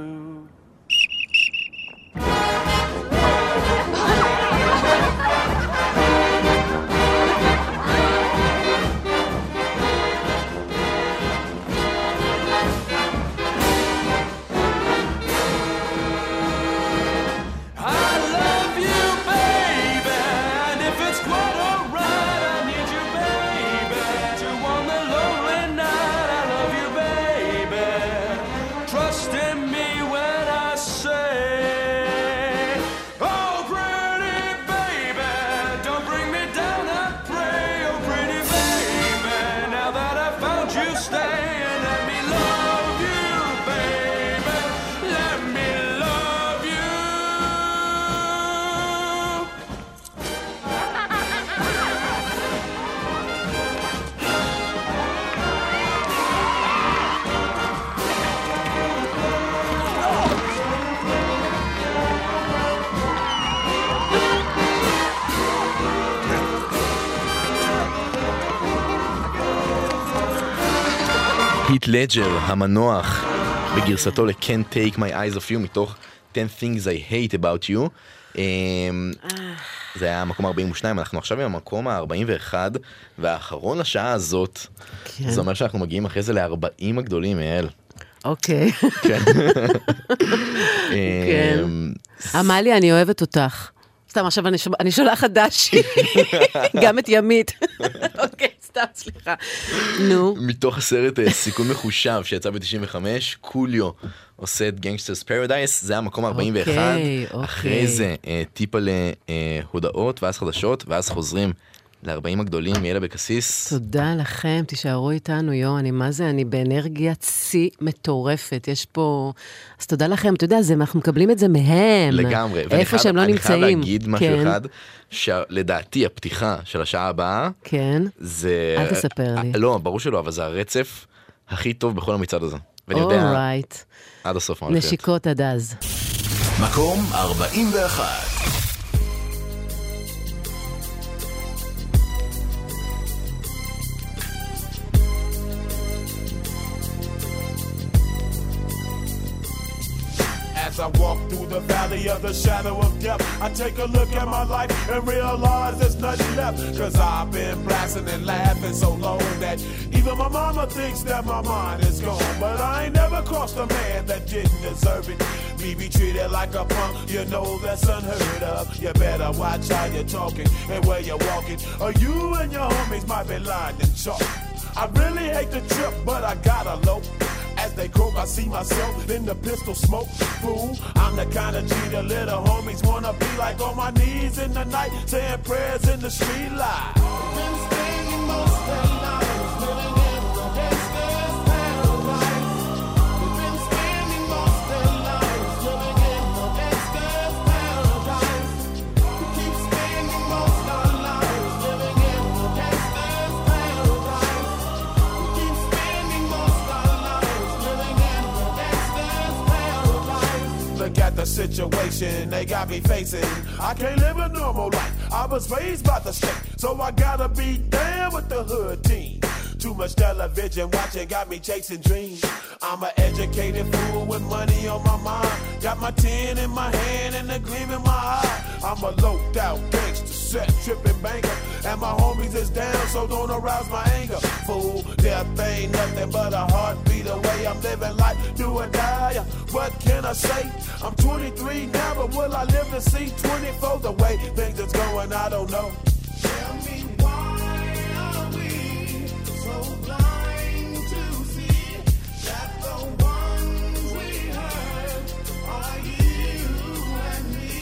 היט לג'ר, המנוח, בגרסתו ל-Can't Take My Eyes Off You, מתוך 10 Things I Hate About You. זה היה המקום 42, אנחנו עכשיו עם המקום ה-41, והאחרון לשעה הזאת, זה אומר שאנחנו מגיעים אחרי זה ל-40 הגדולים, אל. אוקיי. כן. אמליה, אני אוהבת אותך. סתם, עכשיו אני שולחת דשי, גם את ימית. אוקיי, סתם, סליחה. נו. מתוך הסרט סיכון מחושב שיצא ב-95, קוליו עושה את גנגסטרס פרדייס, זה המקום 41. אחרי זה טיפה להודעות ואז חדשות, ואז חוזרים ל-40 הגדולים, יאללה בקסיס. תודה לכם, תישארו איתנו, אני באנרגיה צי מטורפת, יש פה, אז תודה לכם, אתה יודע, אנחנו מקבלים את זה מהם. לגמרי. איפה שהם לא נמצאים. אני חייב להגיד משהו אחד, שלדעתי הפתיחה של השעה הבאה, זה... אל תספר לי. לא, ברור שלא, אבל זה הרצף הכי טוב בכל המצעד הזה. ואני יודע, עד הסוף מה הולכת. נשיקות עד אז. מקום 41. As I walk through the valley of the shadow of death, I take a look at my life and realize there's nothing left. Cause I've been blasting and laughing so long that even my mama thinks that my mind is gone. But I ain't never crossed a man that didn't deserve it. Me be treated like a punk, you know that's unheard of. You better watch how you're talking and where you're walking, or you and your homies might be lying in chalk. I really hate the trip, but I gotta low. As they croak, I see myself in the pistol smoke. Fool, I'm the kind of G the little homies wanna be like, on my knees in the night, saying prayers in the street light. Been staying most of the night, living in the gangster's paradise. We've been spending most of the night, living in the gangster's paradise. situation they got me facing. I can't live a normal life. I was raised by the state, so I gotta be down with the hood team. Too much television watching got me chasing dreams. I'm an educated fool with money on my mind. Got my 10 in my hand and a gleam in my eye. I'm a loped out gangster, set tripping banker, and my homies is down, so don't arouse my anger. Fool, death ain't nothing but a heartbeat away. I'm living life, do or die. What can I say? I'm 23 now, but will I live to see 24? The way things is going, I don't know. Tell me why are we so blind to see that the ones we hurt are you and me?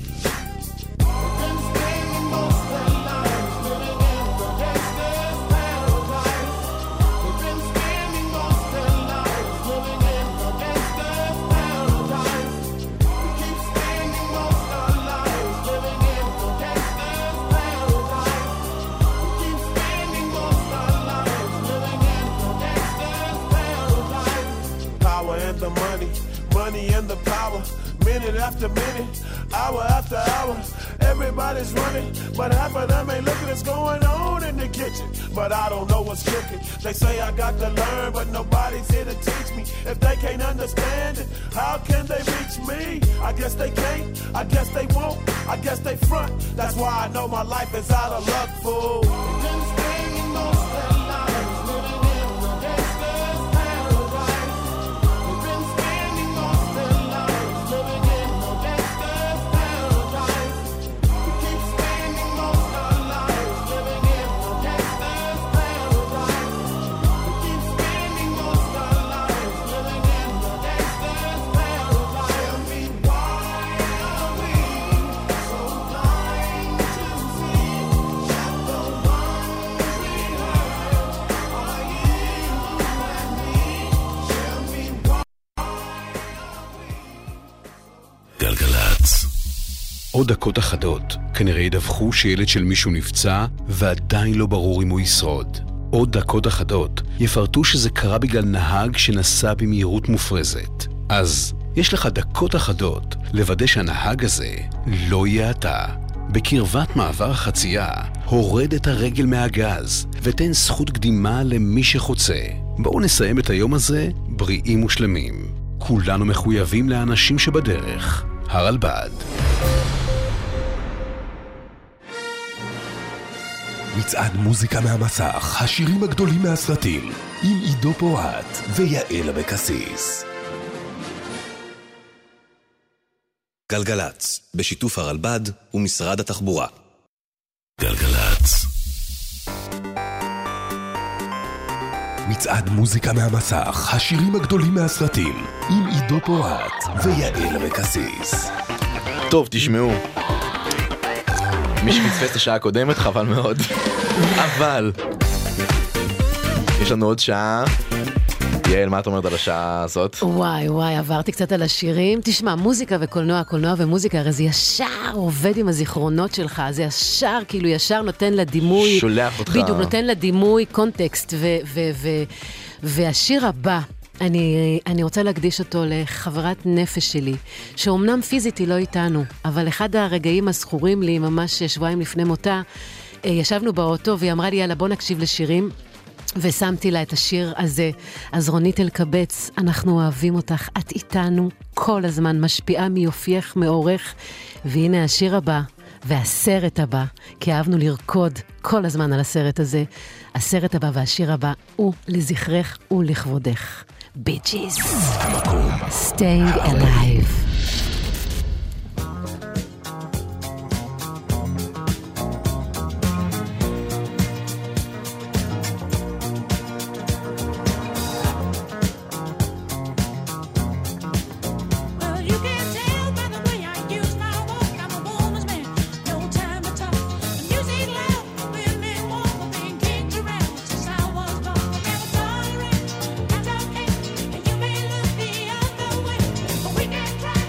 We've been spending most of our lives living in the gangster's paradise. We've been spending most of our lives living in the gangster's paradise. We keep spending most of our lives living in the gangster's paradise. We keep spending most of our lives living in the gangster's paradise. Power and the money, money and the power. Minute after minute, hour after hour, everybody's running, but half of them ain't looking what's going on in the kitchen. But I don't know what's cooking. They say I got to learn, but nobody's here to teach me. If they can't understand it, how can they reach me? I guess they can't, I guess they won't, I guess they front. That's why I know my life is out of luck, fool. We've been spending most of our lives living in the gangster's paradise. We've been spending most of our lives living in the gangster's paradise. We keep spending most of our lives living in the gangster's paradise. We keep spending most of our lives living in the gangster's paradise. Tell me why are we so blind to see that the ones we hurt are you and me? Tell me why. גלגלצ. עוד דקות אחדות, כנראה ידווחו שילד של מישהו נפצע, ועדיין לא ברור אם הוא ישרוד. עוד דקות אחדות, יפרטו שזה קרה בגלל נהג שנסע במהירות מופרזת. אז יש לך דקות אחדות לוודא שהנהג הזה לא יהיה אתה. בקרבת מעבר החצייה, הורד את הרגל מהגז, ותן זכות קדימה למי שחוצה. בואו נסיים את היום הזה בריאים ושלמים. כולנו מחויבים לאנשים שבדרך. הרלב"ד. מצעד מוזיקה מהמסך, השירים הגדולים מהסרטים, עם עידו פורט ויעל אבקסיס. גלגלצ, בשיתוף הרלב"ד ומשרד התחבורה. גלגלצ. מצעד מוזיקה מהמסך, השירים הגדולים מהסרטים, עם עידו פורט ויעל אבקסיס. טוב, תשמעו. מי שפספס את השעה הקודמת, חבל מאוד. אבל יש לנו עוד שעה. יעל, מה את אומרת על השעה הזאת? וואי, עברתי קצת על השירים. תשמע, מוזיקה וקולנוע, קולנוע ומוזיקה, הרי זה ישר עובד עם הזיכרונות שלך, זה ישר, כאילו ישר נותן לה דימוי. שולח אותך. בדיוק, נותן לה דימוי, קונטקסט, והשיר הבא, אני רוצה להקדיש אותו לחברת נפש שלי, שאומנם פיזית היא לא איתנו, אבל אחד הרגעים הזכורים לי, ממש שבועיים לפני מותה, ישבנו באוטו והיא אמרה לי, יאללה, בוא נקשיב לשירים, ושמתי לה את השיר הזה. אז רונית אלקבץ, אנחנו אוהבים אותך, את איתנו כל הזמן, משפיעה מיופייך, מאורך, והנה השיר הבא, והסרט הבא, כי אהבנו לרקוד כל הזמן על הסרט הזה. הסרט הבא והשיר הבא הוא לזכרך ולכבודך. Bee Gees. Staying Alive. We can try.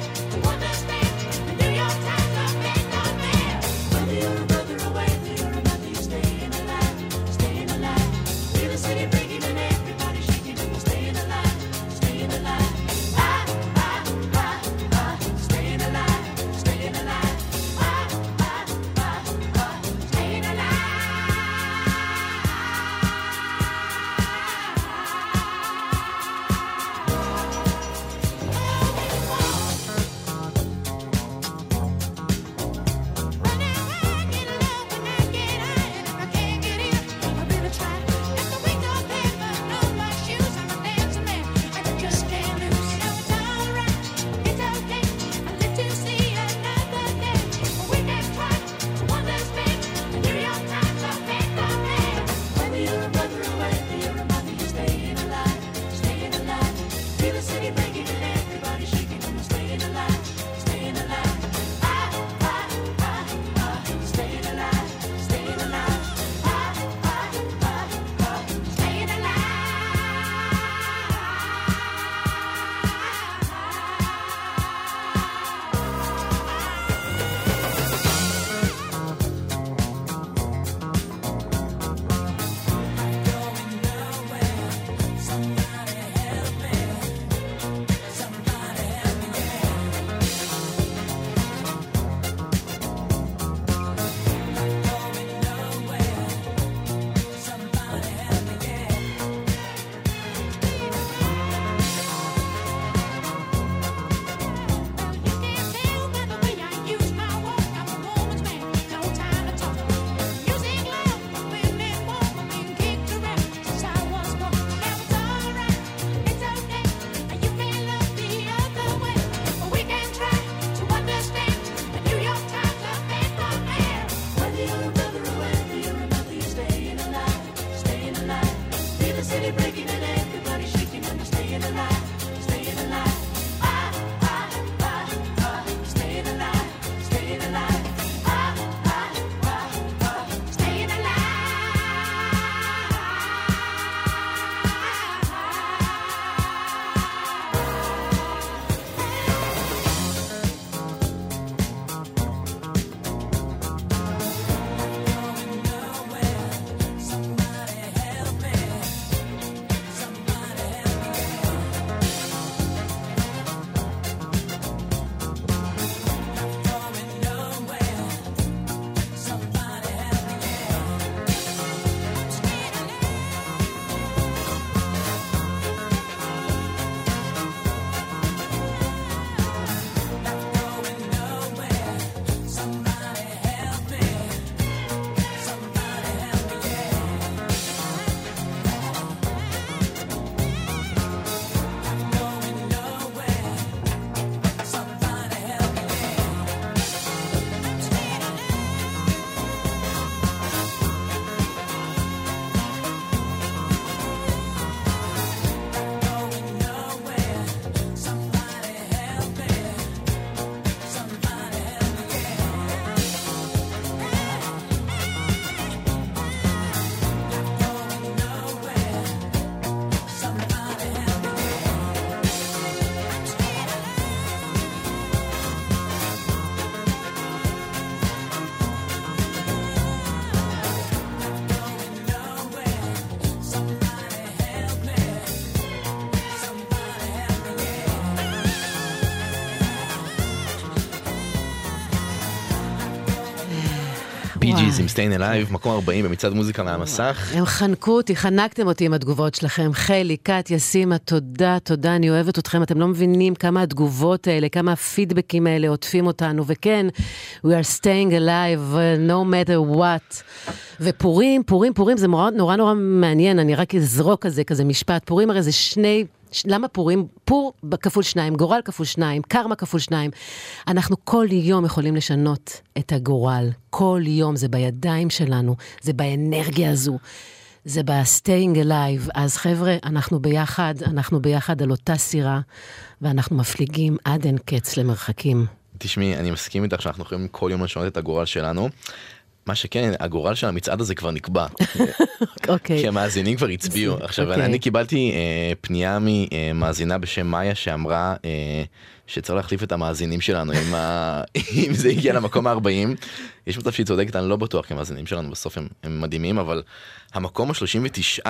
בי-ג'יז עם Stayin' Alive, מקום 40 במצעד מוזיקה מהמסך. הם חנקו אותי, חנקתם אותי עם התגובות שלכם. חלי, קטיה, סימה, תודה, תודה, אני אוהבת אתכם. אתם לא מבינים כמה התגובות האלה, כמה הפידבקים האלה עוטפים אותנו, וכן, we are staying alive, no matter what. ופורים, זה נורא נורא מעניין, אני רק אזרוק כזה משפט. פורים הרי זה שני... למה פורים? פור כפול 2, גורל כפול 2, קרמה כפול 2. אנחנו כל יום יכולים לשנות את הגורל. כל יום זה בידיים שלנו, זה באנרגיה הזו, זה ב-staying alive. אז חבר'ה, אנחנו ביחד על אותה סירה, ואנחנו מפליגים עד אין קץ למרחקים. תשמעי, אני מסכים איתך שאנחנו יכולים כל יום לשנות את הגורל שלנו. מה שכן, הגורל של המצעד הזה כבר נקבע. כי המאזינים כבר הצביעו. עכשיו, אני קיבלתי פנייה ממאזינה בשם מאיה שאמרה שצריך להחליף את המאזינים שלנו אם זה הגיע למקום ה-40. יש מצב שהיא צודקת, אני לא בטוח, כי המאזינים שלנו בסוף הם מדהימים, אבל המקום ה-39,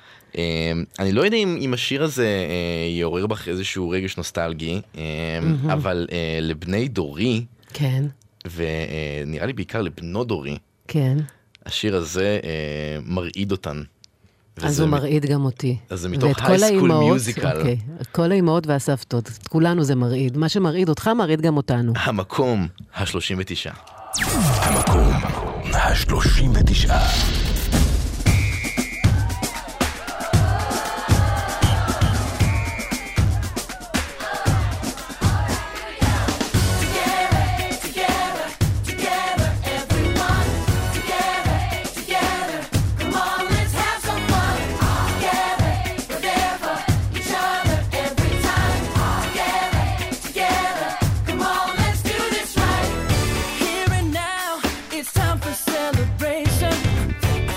אני לא יודע אם השיר הזה יעורר בך איזשהו רגש נוסטלגי, אבל לבני דורי, כן. ונראה לי בעיקר לבנו דורי, כן. השיר הזה מרעיד אותן. אז הוא מרעיד גם אותי. אז זה מתוך הייסקול מיוזיקל. אוקיי, כל האימהות והסבתות, כולנו זה מרעיד. מה שמרעיד אותך מרעיד גם אותנו. המקום ה-39. המקום ה-39. Here and now, it's time for celebration.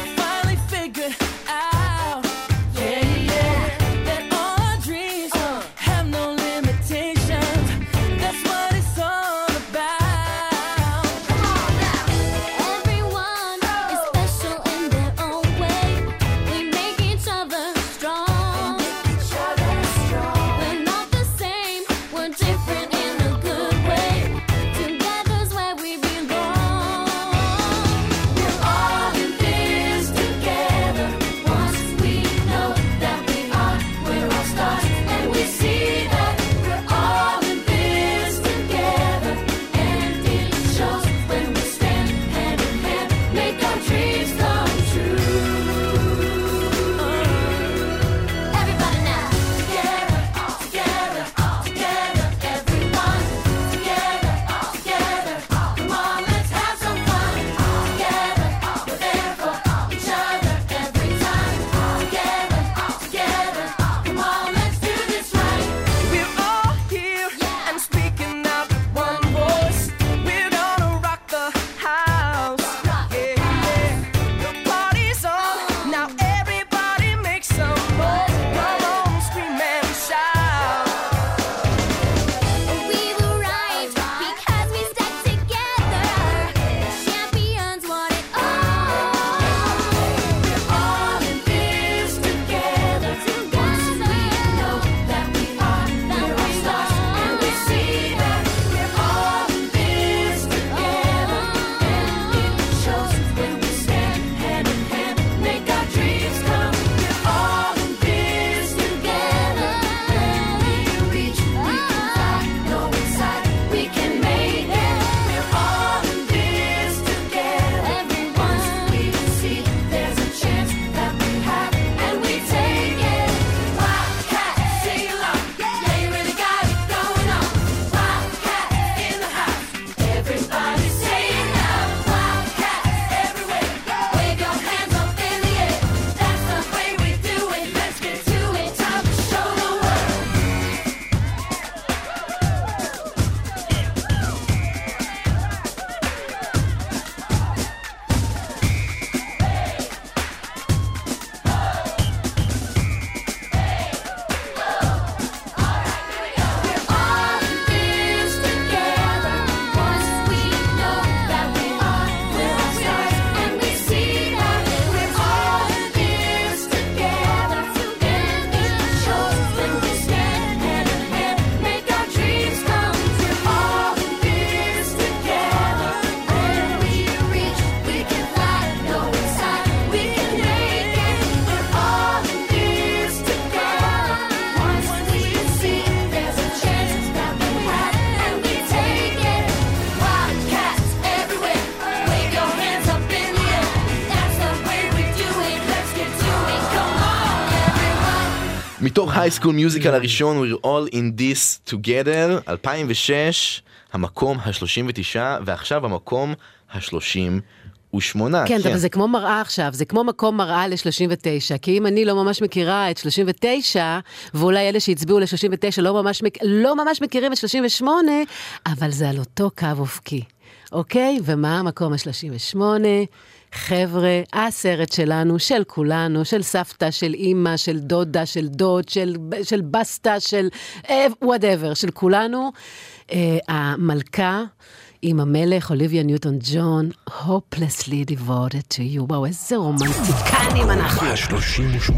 מתוך הייסקול מיוזיקל הראשון, We're All in This Together, 2006, המקום ה-39, ועכשיו המקום ה-38. כן, אבל זה כמו מראה עכשיו, זה כמו מקום מראה ל-39, כי אם אני לא ממש מכירה את 39, ואולי אלה שהצביעו ל-39 לא ממש מכירים את 38, אבל זה על אותו קו אופקי. אוקיי? ומה המקום ה-38? חבר'ה, הסרט שלנו, של כולנו, של סבתא, של אמא, של דודה, של דוד, של בסטה, של whatever, של כולנו. המלכה עם המלך, אוליביה ניוטון ג'ון, hopelessly devoted to you. וואו, איזה רומנטיקנים אנחנו. ה-38.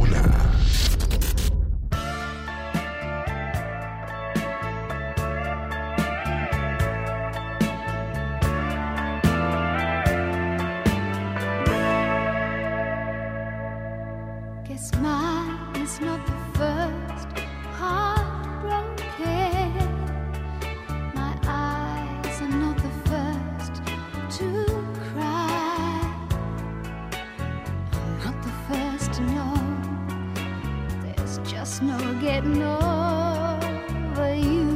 Guess mine is not the first heartbroken. My eyes are not the first to cry. I'm not the first to know. There's just no getting over you.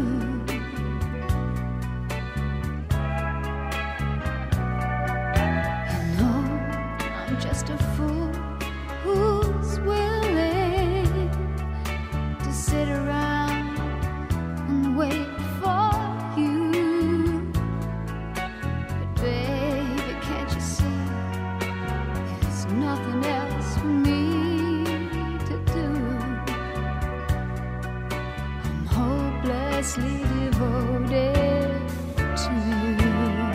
You know, I'm just a fool who's willing to sit around and wait for you. But baby, can't you see there's nothing else for me to do? I'm hopelessly devoted to you.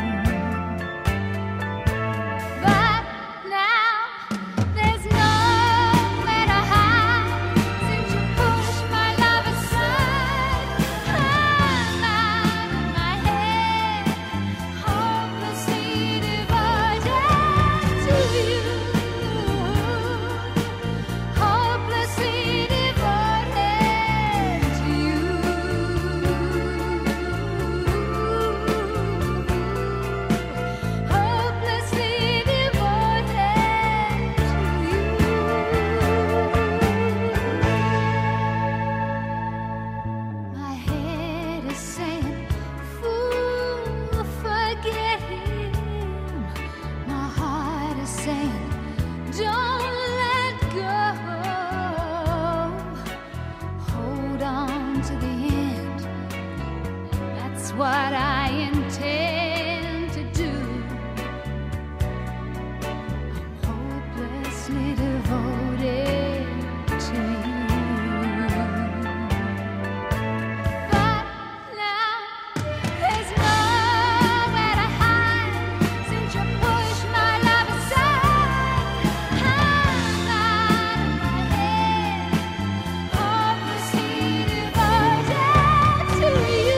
But now there's nowhere to hide since you pushed my love aside. I'm out of my head, hopelessly devoted to you. Hopelessly devoted to you. Hopelessly devoted to you. My head is saying, fool, forget him. My heart is saying, don't let go. Hold on to the end. That's what I intend to do. I'm hopelessly devoted to you. But now there's nowhere to hide since you pushed my love aside. I'm out of my head, hopelessly devoted to you.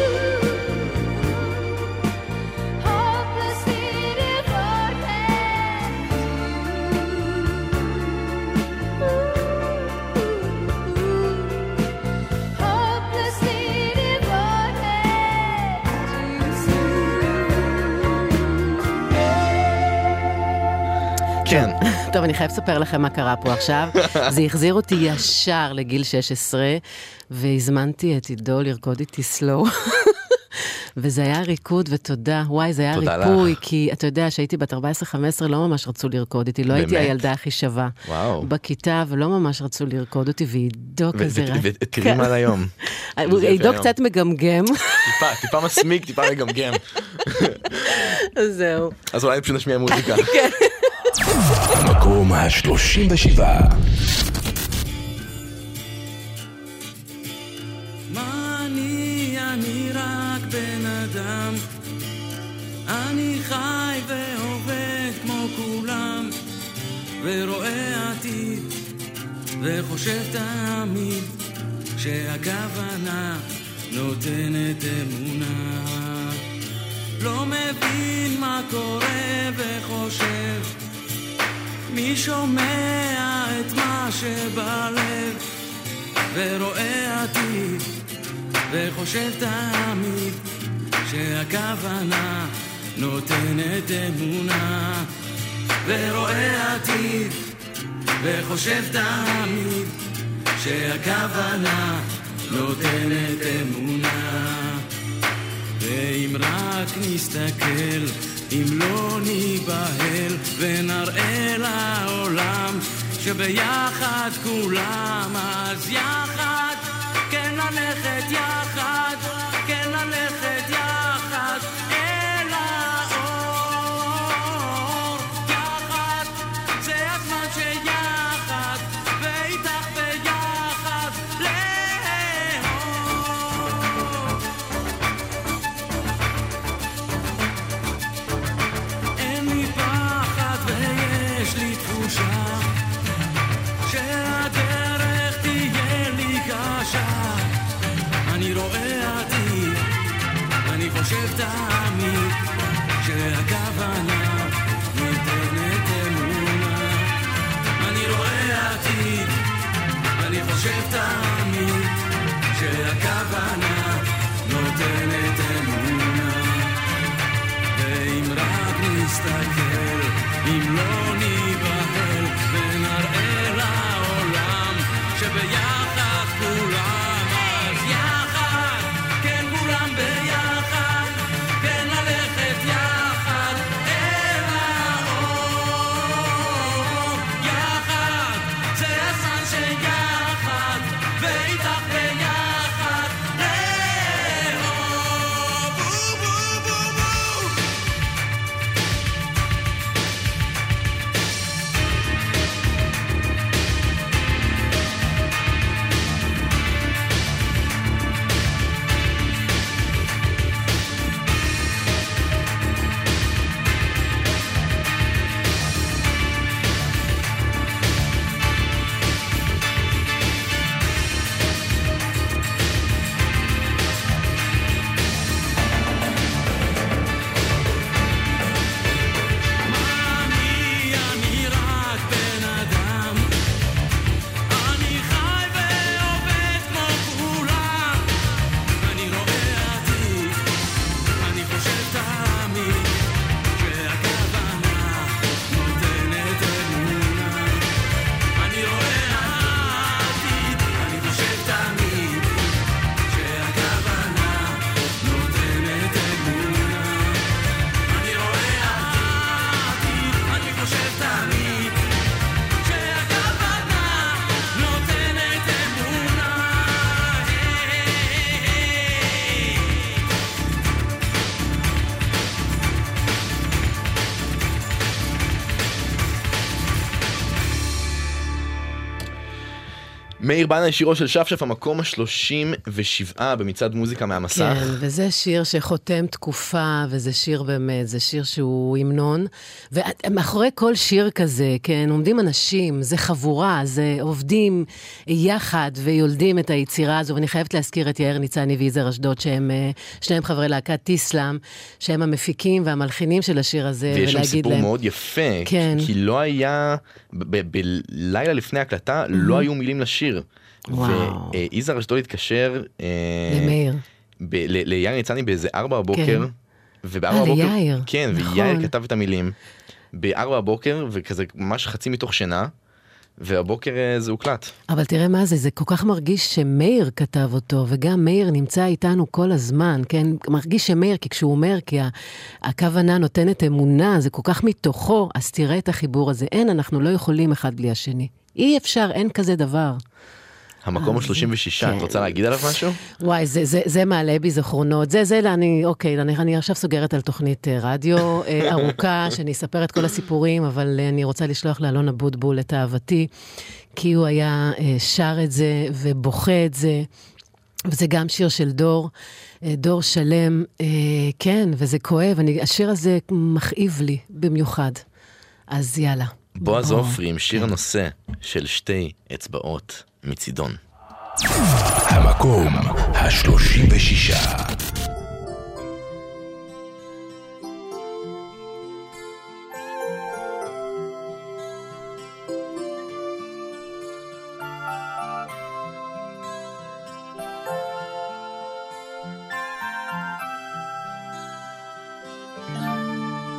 Hopelessly devoted to you. Hopelessly devoted to you. כן. טוב, אני חייב לספר לכם מה קרה פה עכשיו. זה החזיר אותי ישר לגיל 16, והזמנתי את עידו לרקוד איתי סלו. וזה היה ריקוד, ותודה. וואי, זה היה תודה ריפוי, לך. כי אתה יודע שהייתי בת 14-15, לא ממש רצו לרקוד איתי, לא הייתי באמת? הילדה הכי שווה. וואו. בכיתה, ולא ממש רצו לרקוד אותי, ועידו כזה רע. ותראי מה היום. עידו קצת מגמגם. טיפה מסמיק, טיפה מגמגם. זהו. אז אולי פשוט נשמיע מוזיקה. המקום ה-37. מה אני רק בן אדם, אני חי ועובד כמו כולם, ורואה עתיד וחושב תמיד שהכוונה נותנת אמונה. לא מבין מה קורה וחושב, מי שומע את מה שבלב, ורואה עתיד וחושב תמיד שהכוונה נותנת אמונה. ורואה עתיד וחושב תמיד שהכוונה נותנת אמונה. ואם רק נסתכל, אם לא ניבהל ונראה לעולם שביחד כולם, אז יחד, כן ללכת יחד, כן ללכת יחד אל האור. יחד, זה הזמן שיחד, ואיתך ביחד לאור. אין לי פחד ויש לי תחושה שהדרך תהיה לי קשה. אני רואה עתיד, אני חושב תמיד שהכוונה נותנת אמונה. אני רואה עתיד, אני חושב תמיד שהכוונה נותנת אמונה. ואם רק נסתכל, אם לא ניבהל ונראה לעולם שביחד כולם, אז יחד, כן כולם ביחד, כן ללכת יחד אל האור. יחד, זה הזמן שיחד, ואיתך ביחד לאור. בו בו בו בו. אני רק בן אדם, אני חי ועובד כמו כולם. אני רואה עתיד, אני חושב תמיד שהכוונה נותנת אמונה. אני רואה עתיד, אני חושב תמיד שהכוונה נותנת אמונה. אני רואה עתיד, אני חושב תמיד שהכוונה נותנת אמונה. מאיר בנה, שירו של שפשף, המקום ה-37 במצעד מוזיקה מהמסך. כן, וזה שיר שחותם תקופה, וזה שיר באמת, זה שיר שהוא המנון. ומאחורי כל שיר כזה, כן, עומדים אנשים, זה חבורה, זה עובדים יחד ויולדים את היצירה הזו, ואני חייבת להזכיר את יאיר ניצני ויזהר אשדוד, שהם שניהם חברי להקת טיסלאם, שהם המפיקים והמלחינים של השיר הזה, ויש שם ולהגיד סיפור להם... מאוד יפה, כן. כי לא היה, בלילה לפני ההקלטה, לא היו מילים לשיר. וואו. ויזהר אשדוד התקשר למאיר. ליאיר ניצני באיזה 4 בבוקר, כן. ובארבע בבוקר, ליאיר. כן, נכון. ויאיר כתב את המילים, ב4 בבוקר, וכזה ממש חצי מתוך שינה, והבוקר זה הוקלט. אבל תראה מה זה, זה כל כך מרגיש שמאיר כתב אותו, וגם מאיר נמצא איתנו כל הזמן, כן? מרגיש שמאיר, כי כשהוא אומר, כי הכוונה נותנת אמונה, זה כל כך מתוכו, אז תראה את החיבור הזה. אין, אנחנו לא יכולים אחד בלי השני. אי אפשר, אין כזה דבר. המקום ה-36, את רוצה להגיד עליו משהו? וואי, זה מעלה בי זכרונות. אני עכשיו סוגרת על תוכנית רדיו ארוכה, שאני אספר את כל הסיפורים, אבל אני רוצה לשלוח לאלון אבוטבול את אהבתי, כי הוא היה שר את זה ובוכה את זה, וזה גם שיר של דור שלם, כן, וזה כואב, השיר הזה מכאיב לי במיוחד. אז יאללה. בועז עופרי עם שיר הנושא של שתי אצבעות מצידון. המקום ה-36.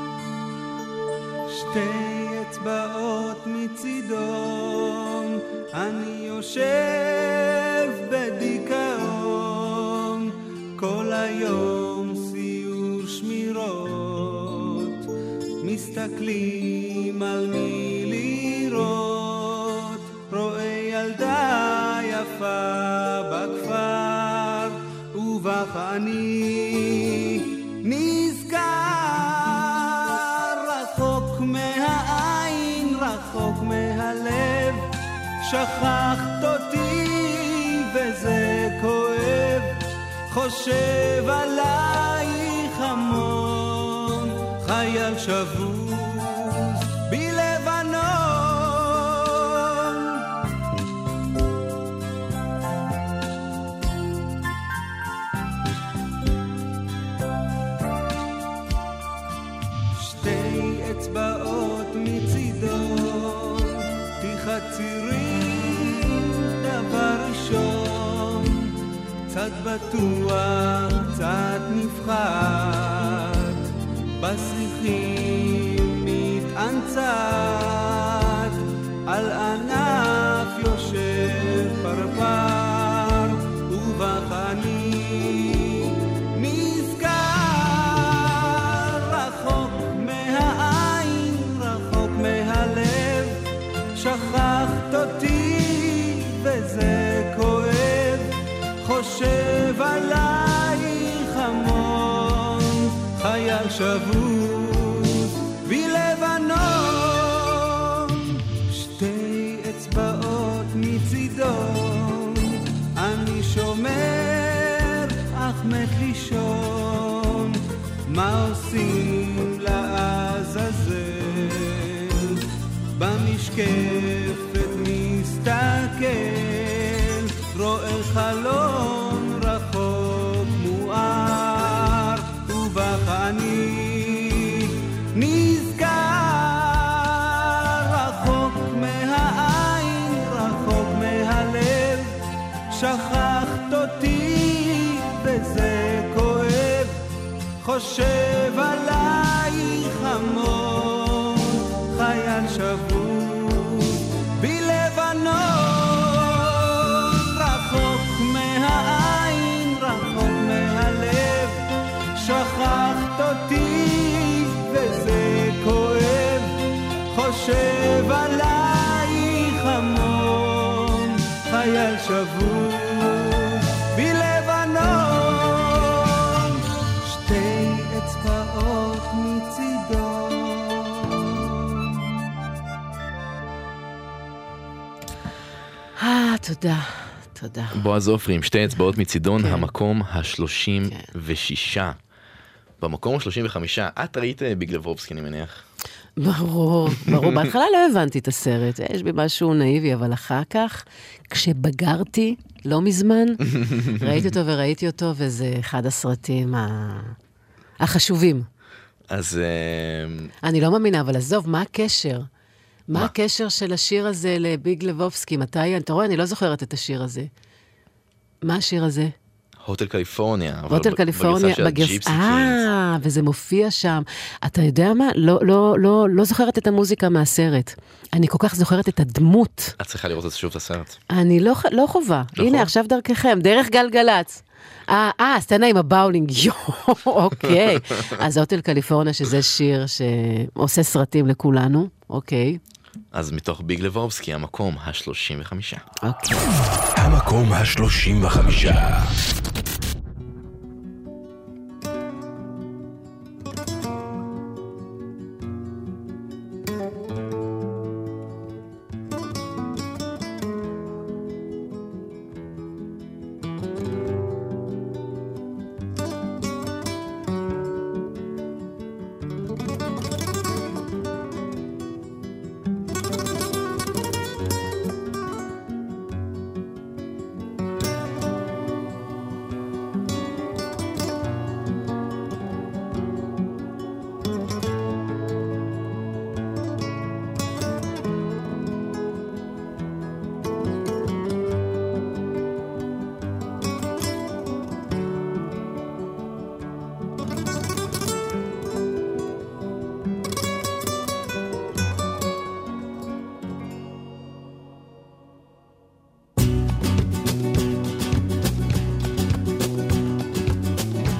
שתי אצבעות מצידון, אני יושב בדיכאון כל היום סיור שמירות, מסתכלים על מי לראות, רואה ילדה יפה בכפר ובך אני נזכר, רחוק מהעין, רחוק מהלב, שכחת אותי וזה כואב, חושב עלייך המון, חייל שבוז בלבנון. שתי אצבעות מצידו תחצירים, דבר ראשון קצת בטוח, קצת נפחד, בשיחים מתאנצת, על ענף יושב פרפר, ובך אני נזכר, רחוק מהעין, רחוק מהלב, שכחת אותי וזה כואב, חושב עלייך המון, חייל שבוז בלבנון. שתי אצבעות מצידו אני שומר, אך מת לישון, מה עושים לעזאזל? במשקפת מסתכל, רואה חלון רחוק מואר, ובך אני נזכר, רחוק מהעין, רחוק מהלב, שכחת אותי וזה כואב, חושב עלייך המון, חייל שבוז בלבנון, רחוק מהעין, רחוק מהלב, שכחת אותי וזה כואב, חושב עלייך המון, חייל שבוז בלבנון. שתי אצבעות מצידו. תודה, תודה. בועז עופרי עם שתי אצבעות מצידון, המקום ה-36. במקום ה-35, את ראית ביג לבובסקי, אני מניח? ברור, ברור. בהתחלה לא הבנתי את הסרט, יש בי משהו נאיבי, אבל אחר כך, כשבגרתי, לא מזמן, ראיתי אותו וראיתי אותו, וזה אחד הסרטים החשובים. אז... אני לא מאמינה, אבל עזוב, מה הקשר? מה הקשר של השיר הזה לביג לבובסקי? מתי? אתה רואה, אני לא זוכרת את השיר הזה. מה השיר הזה? הוטל קליפורניה. הוטל קליפורניה, וזה מופיע שם. אתה יודע מה? לא זוכרת את המוזיקה מהסרט. אני כל כך זוכרת את הדמות. את צריכה לראות את שוב את הסרט. אני לא חובה. הנה, עכשיו דרככם, דרך גלגלץ. סצנה עם הבאולינג, אוקיי. אז הוטל קליפורניה, שזה שיר שעושה סרטים לכולנו, אוקיי. אז מתוך ביג לבובסקי, המקום ה-35. אוקיי. המקום ה-35.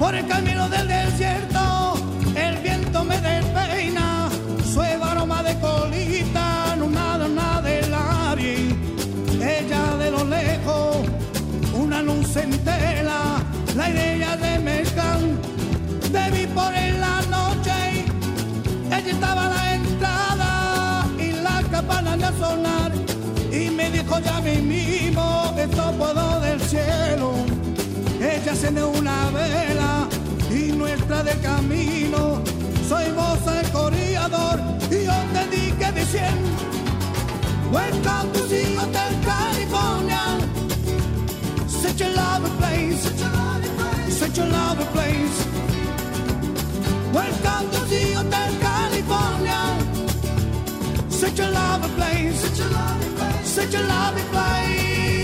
Por el camino del desierto, el viento me despeina, suave aroma de colita, nada del aire. Ella de lo lejos, una luz entera, la idea de mezclar. Debí por en la noche, ella estaba a la entrada y la campana de sonar. Y me dijo ya mismo, esto puedo del cielo. Ella enciende una vela y nuestra de camino. Soy vos el corredor y yo te dije diciendo, welcome to the Hotel California. Such a lovely place, such a lovely place. Welcome to the Hotel California. Such a lovely place, such a lovely place, such a lovely place.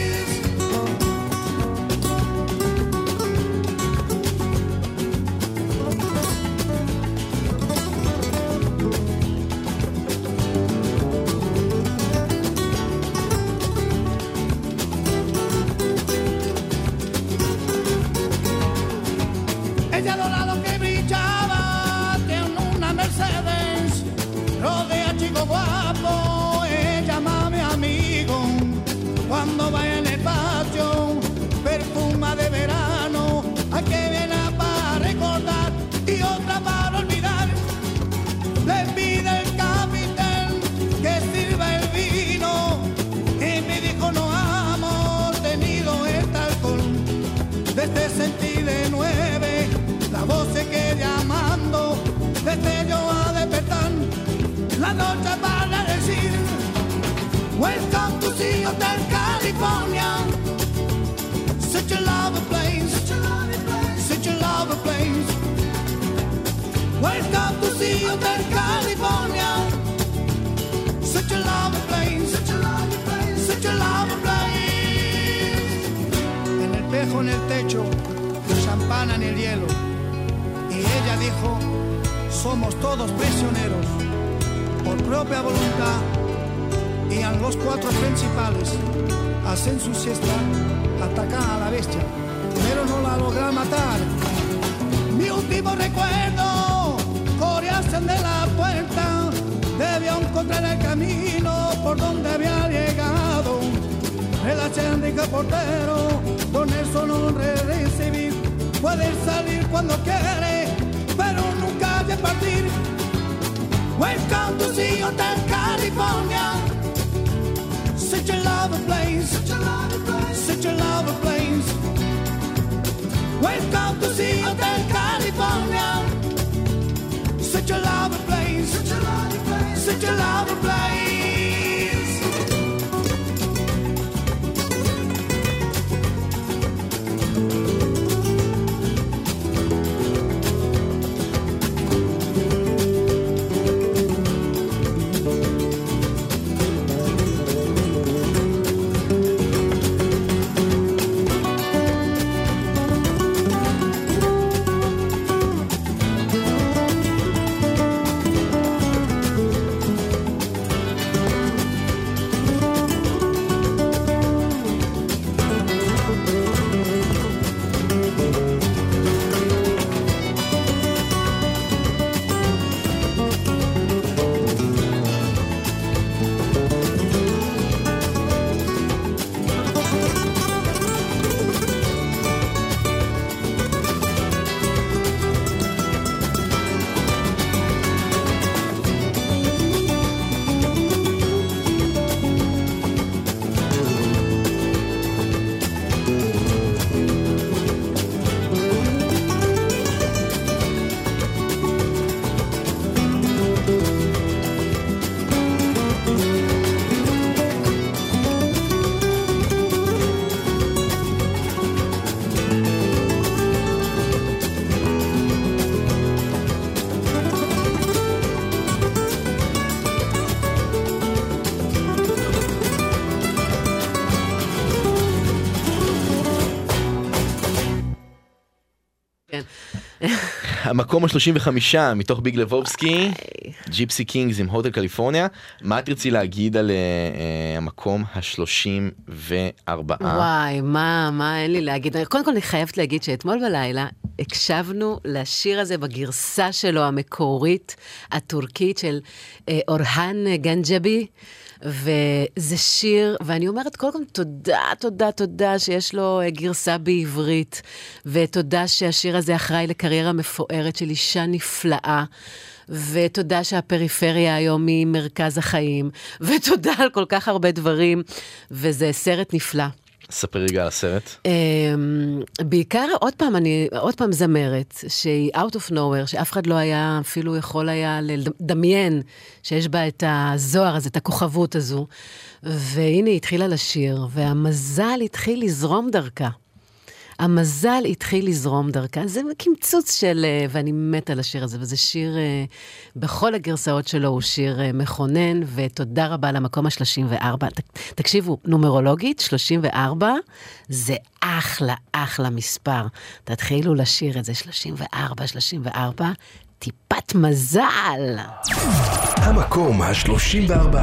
Ella dorado que brillaba tiene una Mercedes, rodea chico guapo, ella mami amigo. Cuando vaya en el patio, perfuma de verano, hay que viene para recordar y otra para olvidar. Le pide el capitán que sirva el vino y me dijo no hemos tenido este alcohol desde 69. La voz se queda llamando, desde yo a despertar, la noche para decir, welcome to the Hotel California. Such a lovely place, such a lovely place, such a lovely place. Welcome to the Hotel California. Such a lovely place, such a lovely place, such a lovely place. En el espejo, en el techo, champán en el hielo. Y ella dijo, somos todos prisioneros, por propia voluntad, y a los cuatro principales hacen su siesta, atacan a la bestia, pero no la logran matar. Mi último recuerdo, corriesen de la puerta, debió encontrar el camino por donde había llegado. El achendrica portero, con eso no recibir. Puede salir cuando quiere, pero nunca de partir. Welcome to the Hotel California. Such a lovely place, such a lovely place, such a lovely place. Welcome to the Hotel California. Such a lovely place, such a lovely place, such a lovely place. המקום ה-35 מתוך ביג לבובסקי, ג'יפסי קינגס עם הוטל קליפורניה. מה תרצי להגיד על המקום ה-34? וואי, מה אין לי להגיד? קודם כל אני חייבת להגיד שאתמול בלילה הקשבנו לשיר הזה בגרסה שלו המקורית, הטורקית של אורהן גנג'בי, וזה שיר, ואני אומרת כל פעם תודה שיש לו גרסה בעברית, ותודה שהשיר הזה אחראי לקריירה מפוארת של אישה נפלאה, ותודה שהפריפריה היום היא מרכז החיים, ותודה על כל כך הרבה דברים, וזה סרט נפלא. ספר רגע על הסרט. בעיקר, עוד פעם זמרת, שהיא out of nowhere, שאף אחד לא היה, אפילו יכול היה לדמיין, שיש בה את הזוהר הזה, את הכוכבות הזו, והנה היא התחילה לשיר, והמזל התחיל לזרום דרכה. המזל התחיל לזרום דרכה, זה קמצוץ של, ואני מתה על השיר הזה, וזה שיר, בכל הגרסאות שלו הוא שיר מכונן, ותודה רבה למקום ה-34. תקשיבו, נומרולוגית, 34, זה אחלה מספר. תתחילו לשיר את זה, 34, טיפת מזל. המקום ה-34.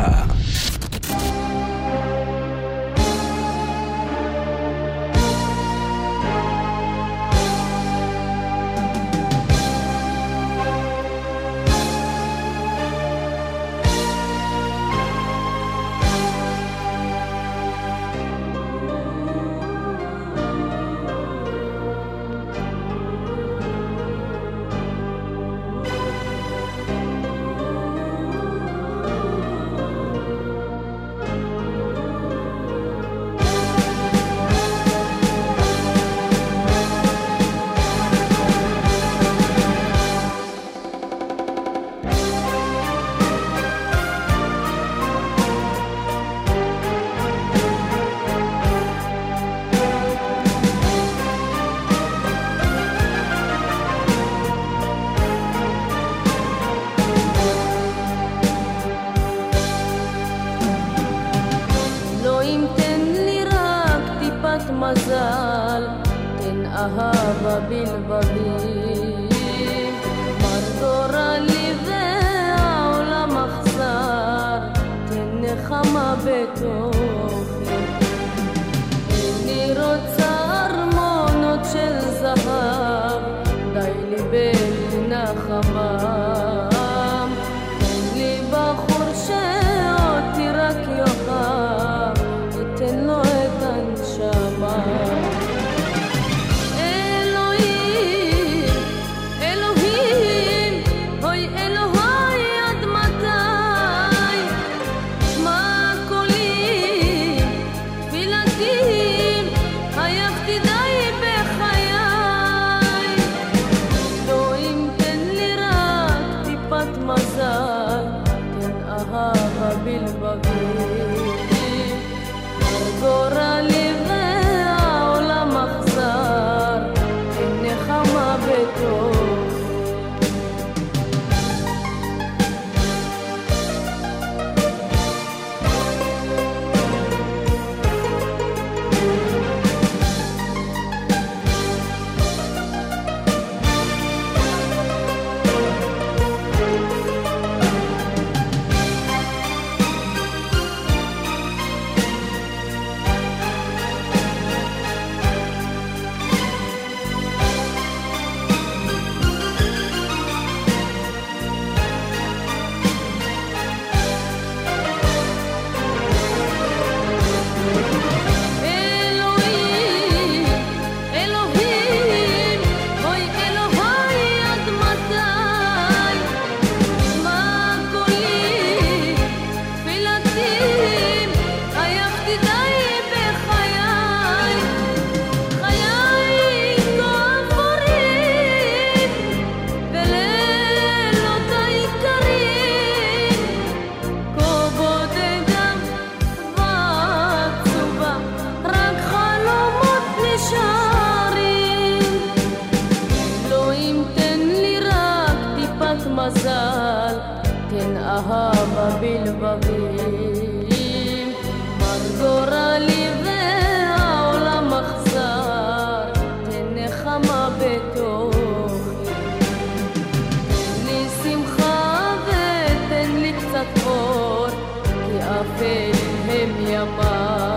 מזל, תן אהבה בלבבים, מרדורה לי והעולם אכזר, תן נחמה בתוכי. אני רוצה ארמונות של זהב, די לי בנחמם, תן לי בחור שאותי רק יאהב, ותן לו את הנשמה.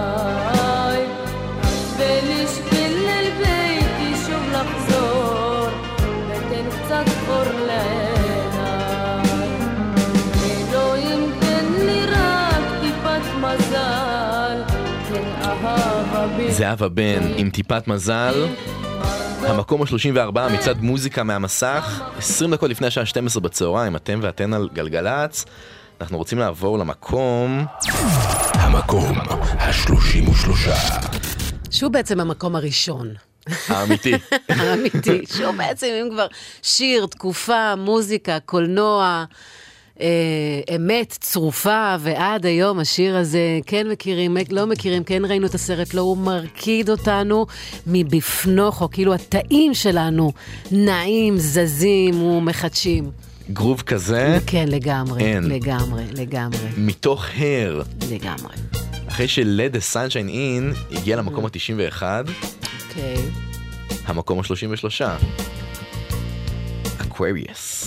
ולשביל אל ביתי שוב לחזור, זהבה בן עם טיפת מזל. המקום ה-34 מצד מוזיקה מהמסך, 20 דקות לפני השעה 12 בצהריים, אתם ואתן על גלגלץ. אנחנו רוצים לעבור למקום... המקום ה-33. שהוא בעצם המקום הראשון. האמיתי. האמיתי. שהוא בעצם, אם כבר שיר, תקופה, מוזיקה, קולנוע, אמת, צרופה, ועד היום השיר הזה, כן מכירים, לא מכירים, כן ראינו את הסרט, לא, הוא מרקיד אותנו מבפנוך, או כאילו התאים שלנו נעים, זזים ומחדשים. גרוב כזה? כן, לגמרי, אין. לגמרי, לגמרי. מתוך הר. לגמרי. אחרי של-Let the Sunshine In הגיע למקום ה-91. אוקיי. המקום ה-33. Aquarius.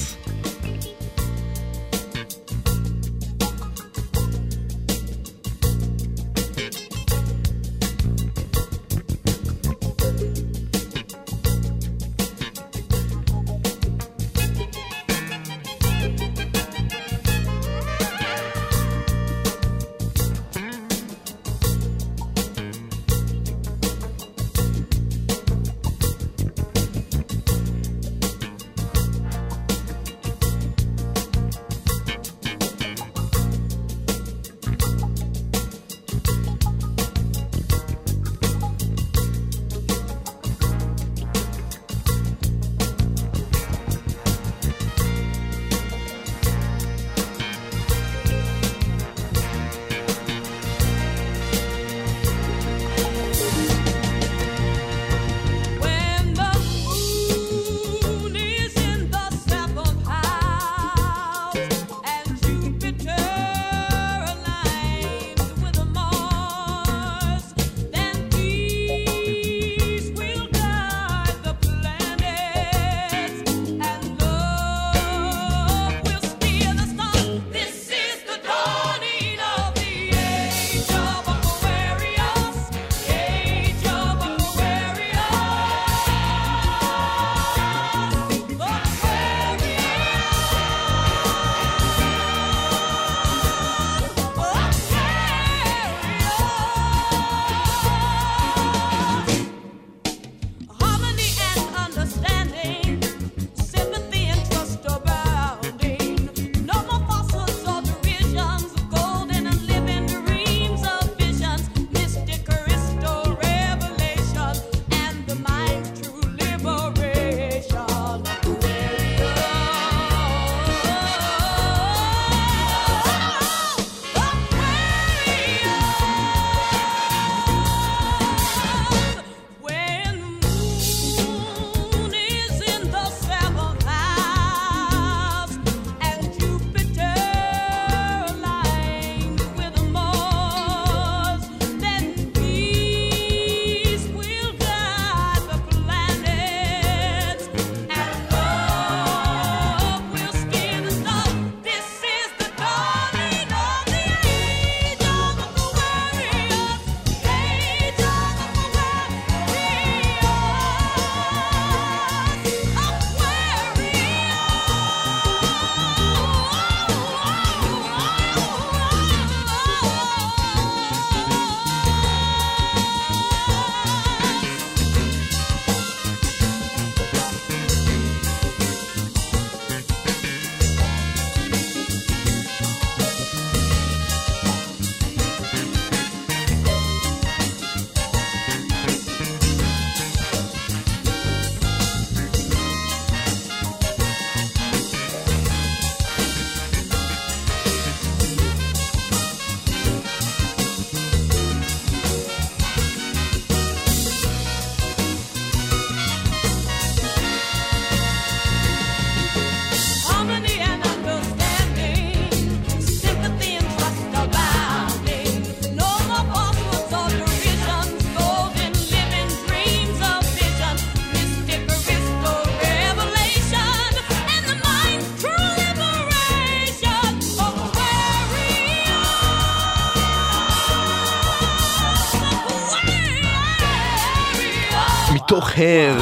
מתוך הר,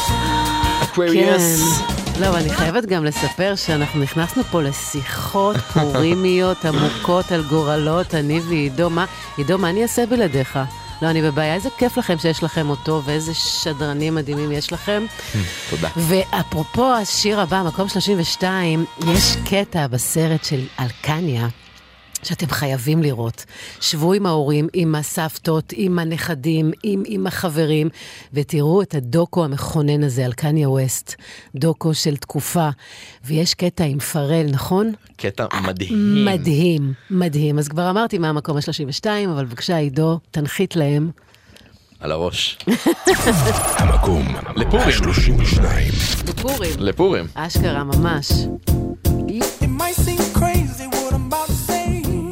אקווריוס. כן. לא, אני חייבת גם לספר שאנחנו נכנסנו פה לשיחות פורימיות עמוקות על גורלות, אני ועידו. עידו, מה אני אעשה בלעדיך? לא, אני בבעיה, איזה כיף לכם שיש לכם אותו, ואיזה שדרנים מדהימים יש לכם. תודה. ואפרופו השיר הבא, מקום 32, יש קטע בסרט של אלקניה, שאתם חייבים לראות. שבו עם ההורים, עם הסבתות, עם הנכדים, עם החברים, ותראו את הדוקו המכונן הזה על קניה ווסט, דוקו של תקופה, ויש קטע עם פרל, נכון? קטע מדהים. מדהים, מדהים. אז כבר אמרתי מה המקום ה-32, אבל בבקשה, עידו, תנחית להם. על הראש. המקום לפורים. 32. לפורים. לפורים. אשכרה ממש. It might seem crazy what I'm about to say.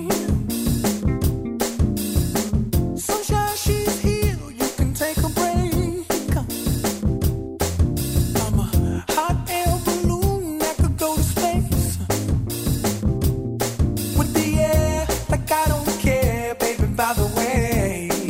Sunshine, she's here, you can take a break. I'm a hot air balloon that could go to space. With the air, like I don't care, baby, by the way.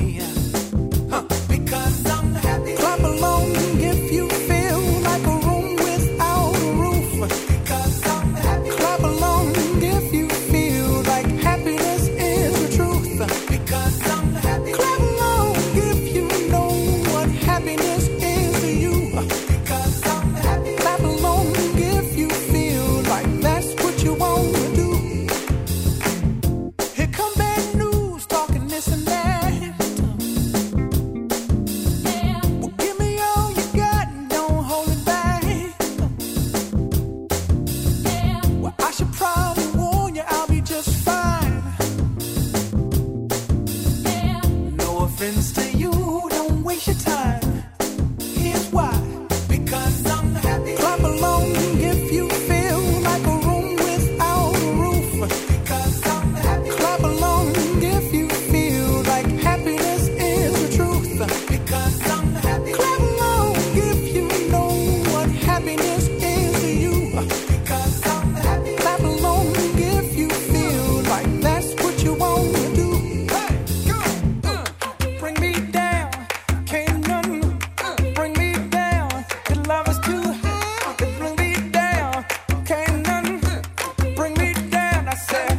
Because I'm happy. Clap along if you feel like a room without a roof. Because I'm happy. Clap along if you feel like happiness is the truth. Because I'm happy. Clap along if you know what happiness is to you. Because I'm happy. Clap along if you feel like that's what you want to do. Here come bad news, talking this and that. Well, give me all you got and don't hold it back. Well, I should probably warn you, I'll be just fine. No offense to you, don't waste your time. Here's why. Because I'm happy. Clap along if you feel like a room without a roof. Because I'm happy. Clap along if you feel like happiness is the truth. Because I'm happy. Clap along if you know what happiness is to you. Because I'm happy. Clap along if you feel like that's what you want to do. Hey, go. Bring me down, can't none bring me down. Your love is too high. Bring me down, can't none bring me down. I said,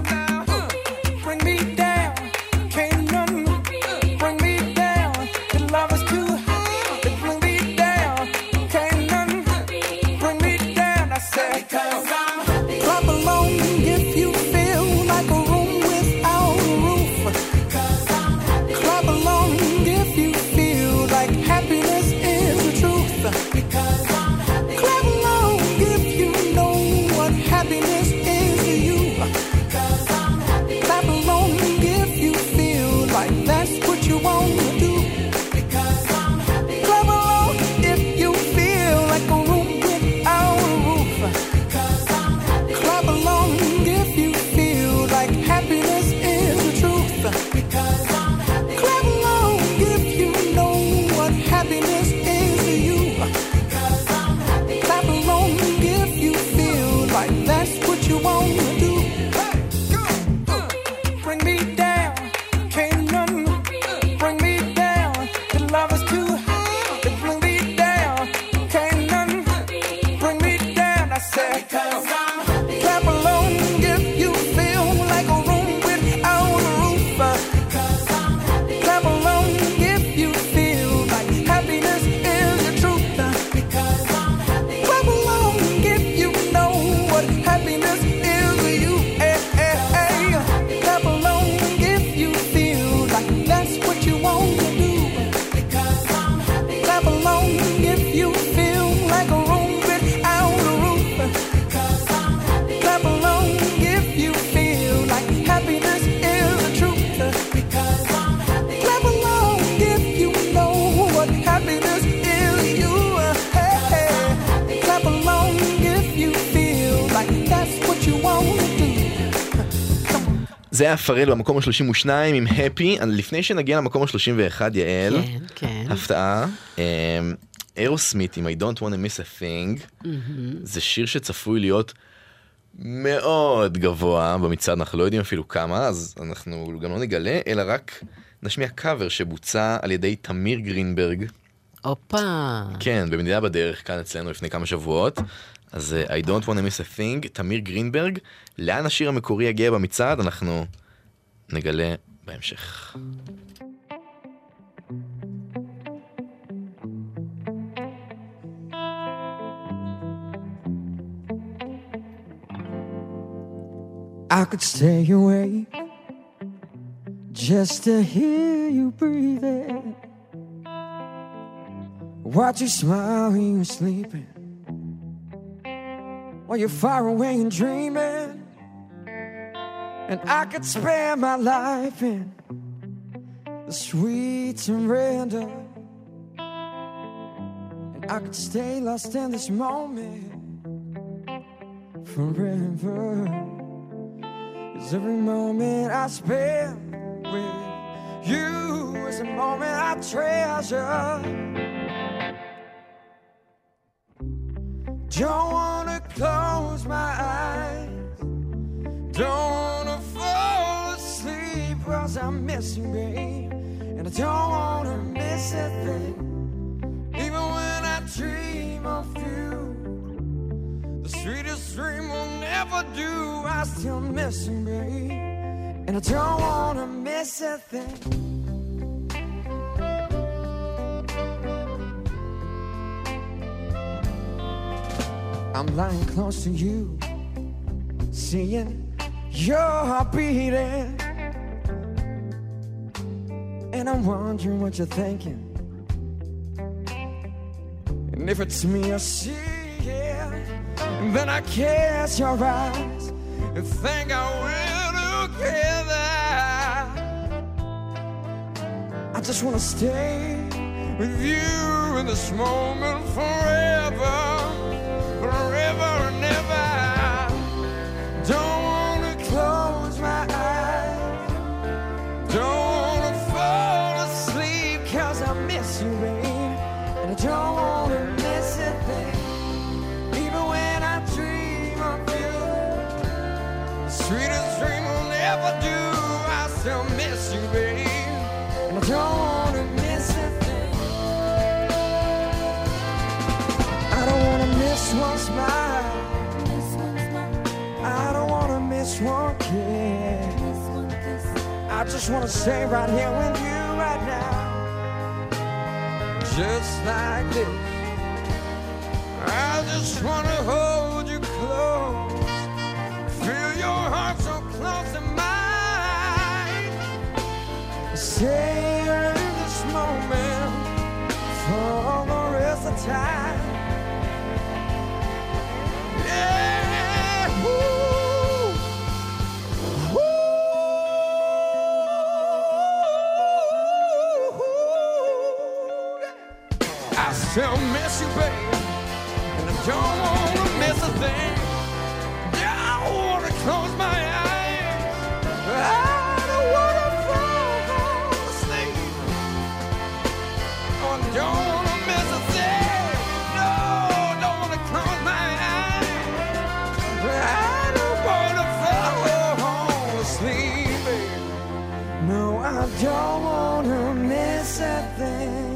bring me down, can't none bring me down. Your love is too high. Bring me down, can't none bring me down. I said, because I'm happy. Clap along if you feel like a room without a roof. Because I'm happy. Clap along if you feel like happiness is the truth. Because I'm happy. Clap along if you know what happiness is to you. Because I'm happy. Clap along if you feel like that's what you want to do. Because I'm happy. Clap along if you feel like a room without a roof. Because I'm happy. Clap along if you feel like happiness is the truth. Because I'm happy. Clap along if you know what happiness is to you. Because I'm happy. Clap along if you feel like that's what you want to do. Hey, go. Bring me down, can't none bring me down. Your love is too high. Bring me down, can't none bring me down. I said, because I'm happy. Clap along if you feel like a room without a roof. Because I'm happy. Clap along if you feel like happiness is the truth. Because I'm happy. Clap along if you know what happiness is to you. Hey, hey, hey. Clap along if you feel like that's what you want to do. Because I'm happy. Clap along if you feel like a room without a roof. Because I'm happy. Clap along if you feel like happiness is the truth. Because I'm happy. Clap along if you know what happiness is to you. Hey, hey. Clap along if you feel like that's what you want to do. זה היה פרל במקום ה-32 עם הפי. לפני שנגיע למקום ה-31, יעל, כן. הפתעה, אירוסמית עם I don't want to miss a thing. זה שיר שצפוי להיות מאוד גבוה במצעד, אנחנו לא יודעים אפילו כמה, אז אנחנו גם לא נגלה, אלא רק נשמיע קאבר שבוצע על ידי תמיר גרינברג. אופה. כן, במדינה בדרך, כאן אצלנו לפני כמה שבועות. אז I don't want to miss a thing, תמיר גרינברג. לאן השיר המקורי יגיע במצעד, אנחנו נגלה בהמשך. I could stay awake just to hear you breathing. Watch you smile when you're sleeping, while you're far away and dreaming. And I could spend my life in the sweet surrender. And I could stay lost in this moment forever. 'Cause every moment I spend with you is a moment I treasure. Don't wanna close my eyes, don't wanna fall asleep, 'cause I'm missing, babe. And I don't wanna miss a thing, even when I dream of you. The sweetest dream will never do, I still miss you, babe. And I don't wanna miss a thing. I'm lying close to you, seeing your heart beating, and I'm wondering what you're thinking. And if it's me you're seeing, then I catch your eyes and think I will together. I just wanna stay with you in this moment forever, forever and ever. Don't wanna close my eyes, don't wanna fall asleep, 'cause I miss you, babe. And I don't wanna miss a thing, even when I dream of you. The sweetest dream will never do, I still miss you, babe. And I don't wanna miss a thing. I don't wanna miss one smile, I don't wanna miss one kiss. I just wanna stay right here with you right now, just like this. I just wanna hold you close, feel your heart so close to mine. Stay in this moment for the rest of time. Yeah, woo. I still miss you, babe, and I don't wanna miss a thing. Yeah, I wanna close my eyes, I don't wanna fall asleep. Oh, I don't wanna miss a thing. No, don't wanna close my eyes, I don't wanna fall asleep, babe. No, I don't wanna miss a thing.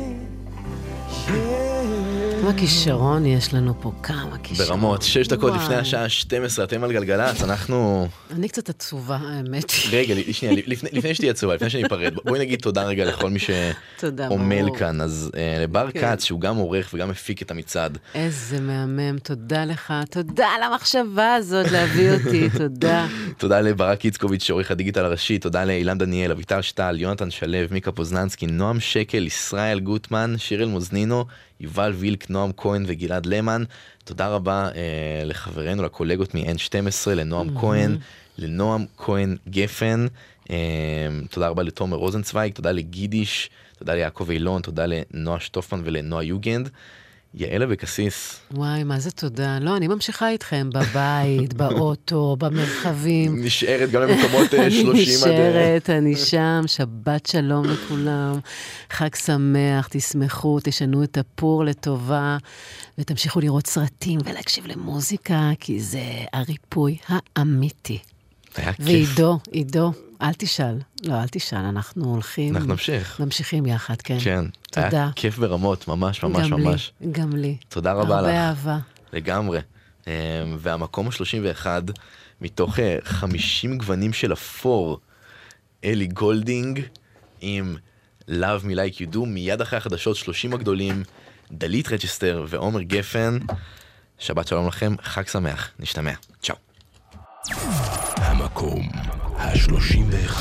כמה כישרון יש לנו פה, כמה כישרון. ברמות, 6 דקות לפני השעה 12, אתם על גלגלץ, אנחנו... אני קצת עצובה, האמת. רגע, שנייה, לפני שתהיה עצובה, לפני שאני אפרד, בואי נגיד תודה רגע לכל מי שעומל כאן, אז לבר קאץ, שהוא גם עורך וגם מפיק את המצעד. איזה מהמם, תודה לך, תודה על המחשבה הזאת להביא אותי, תודה. תודה לברק איצקוביץ' שעורך הדיגיטל הראשי, תודה לאילן דניאל, אביטל שטל, יונתן שלו, מיקה פוזננסקי, נועם שקל, ישראל גוטמן, שירל מוזנינו, יובל וילק, נועם כהן וגלעד למן. תודה רבה לחברינו, לקולגות מ-N12, לנועם כהן, לנועם כהן גפן, תודה רבה לתומר רוזנצוויג, תודה לגידיש, תודה ליעקב אילון, תודה לנועה שטופמן ולנועה יוגנד. יעל אבקסיס. וואי, מה זה תודה? לא, אני ממשיכה איתכם בבית, באוטו, במרחבים. נשארת גם למקומות 30 אני נשארת, אני שם, שבת שלום לכולם. חג שמח, תשמחו, תשנו את הפור לטובה, ותמשיכו לראות סרטים ולהקשיב למוזיקה, כי זה הריפוי האמיתי. היה כיף. ועידו, עידו, אל תשאל. לא, אל תשאל, אנחנו הולכים... אנחנו נמשיך. ממשיכים יחד, כן. כן. תודה. היה כיף ברמות, ממש, ממש, גם ממש. לי, גם לי. תודה רבה לך. הרבה אהבה. לגמרי. והמקום ה-31, מתוך 50 גוונים של אפור, אלי גולדינג, עם Love Me Like You Do, מיד אחרי החדשות 30 הגדולים, דלית רג'סטר ועומר גפן. שבת שלום לכם, חג שמח, נשתמע. צ'או. המקום ה-31.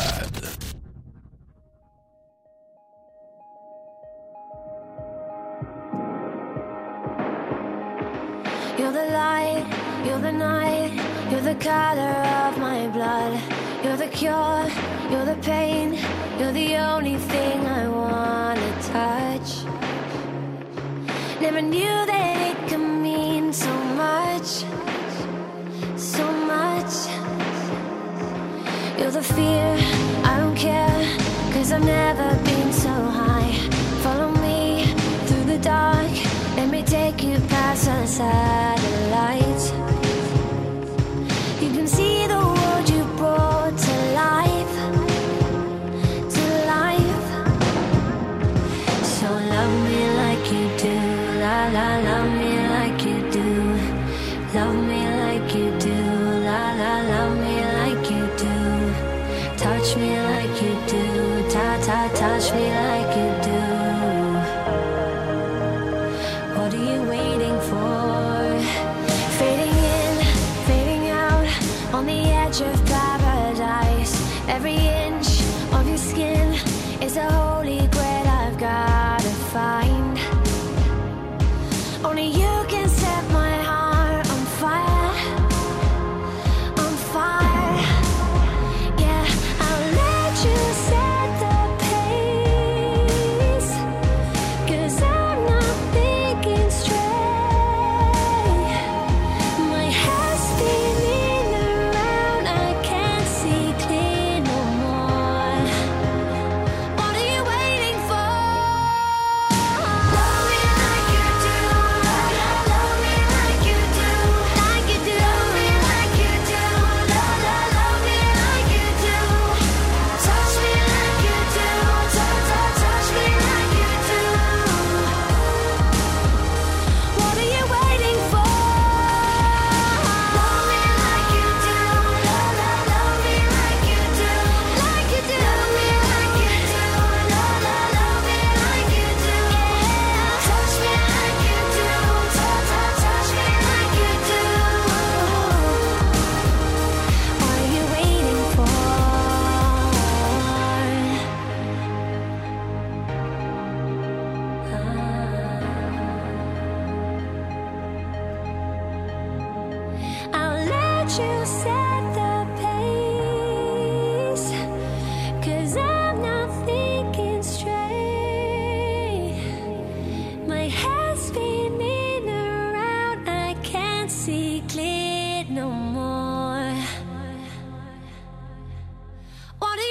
You're the light, you're the night, you're the color of my blood. You're the cure, you're the pain, you're the only thing I wanna touch. Never knew that it could mean so much, so much. You're the fear, I don't care, 'cause I've never been so high. Follow me through the dark, let me take you past the satellites. You can see the world you brought to life, to life. So love me like you do, la la, love me like you do. Love me like you do, la la, love me like you do. Touch me like you do, ta ta, touch me like you do. What are you waiting for? Fading in, fading out, on the edge of paradise. Every inch of your skin is a holy grail I've gotta find. Only you can set my heart on fire, on fire. Yeah, I'll let you set the pace, 'cause I'm not thinking straight. My head's spinning around, I can't see clear no more. What are you waiting for? Love me like you do, love me like you do, like you do. Love me like you do, love me like you do. Touch me like you do, touch me like you do. What are you waiting for? Love me like you do, love me like you do, like you do. Love me like you do, love me like you do. Touch me like you do, touch me like you do. What are you waiting for? I'll let you set the pace, 'cause I'm not thinking straight. My head's spinning around, I can't see clear no more. What are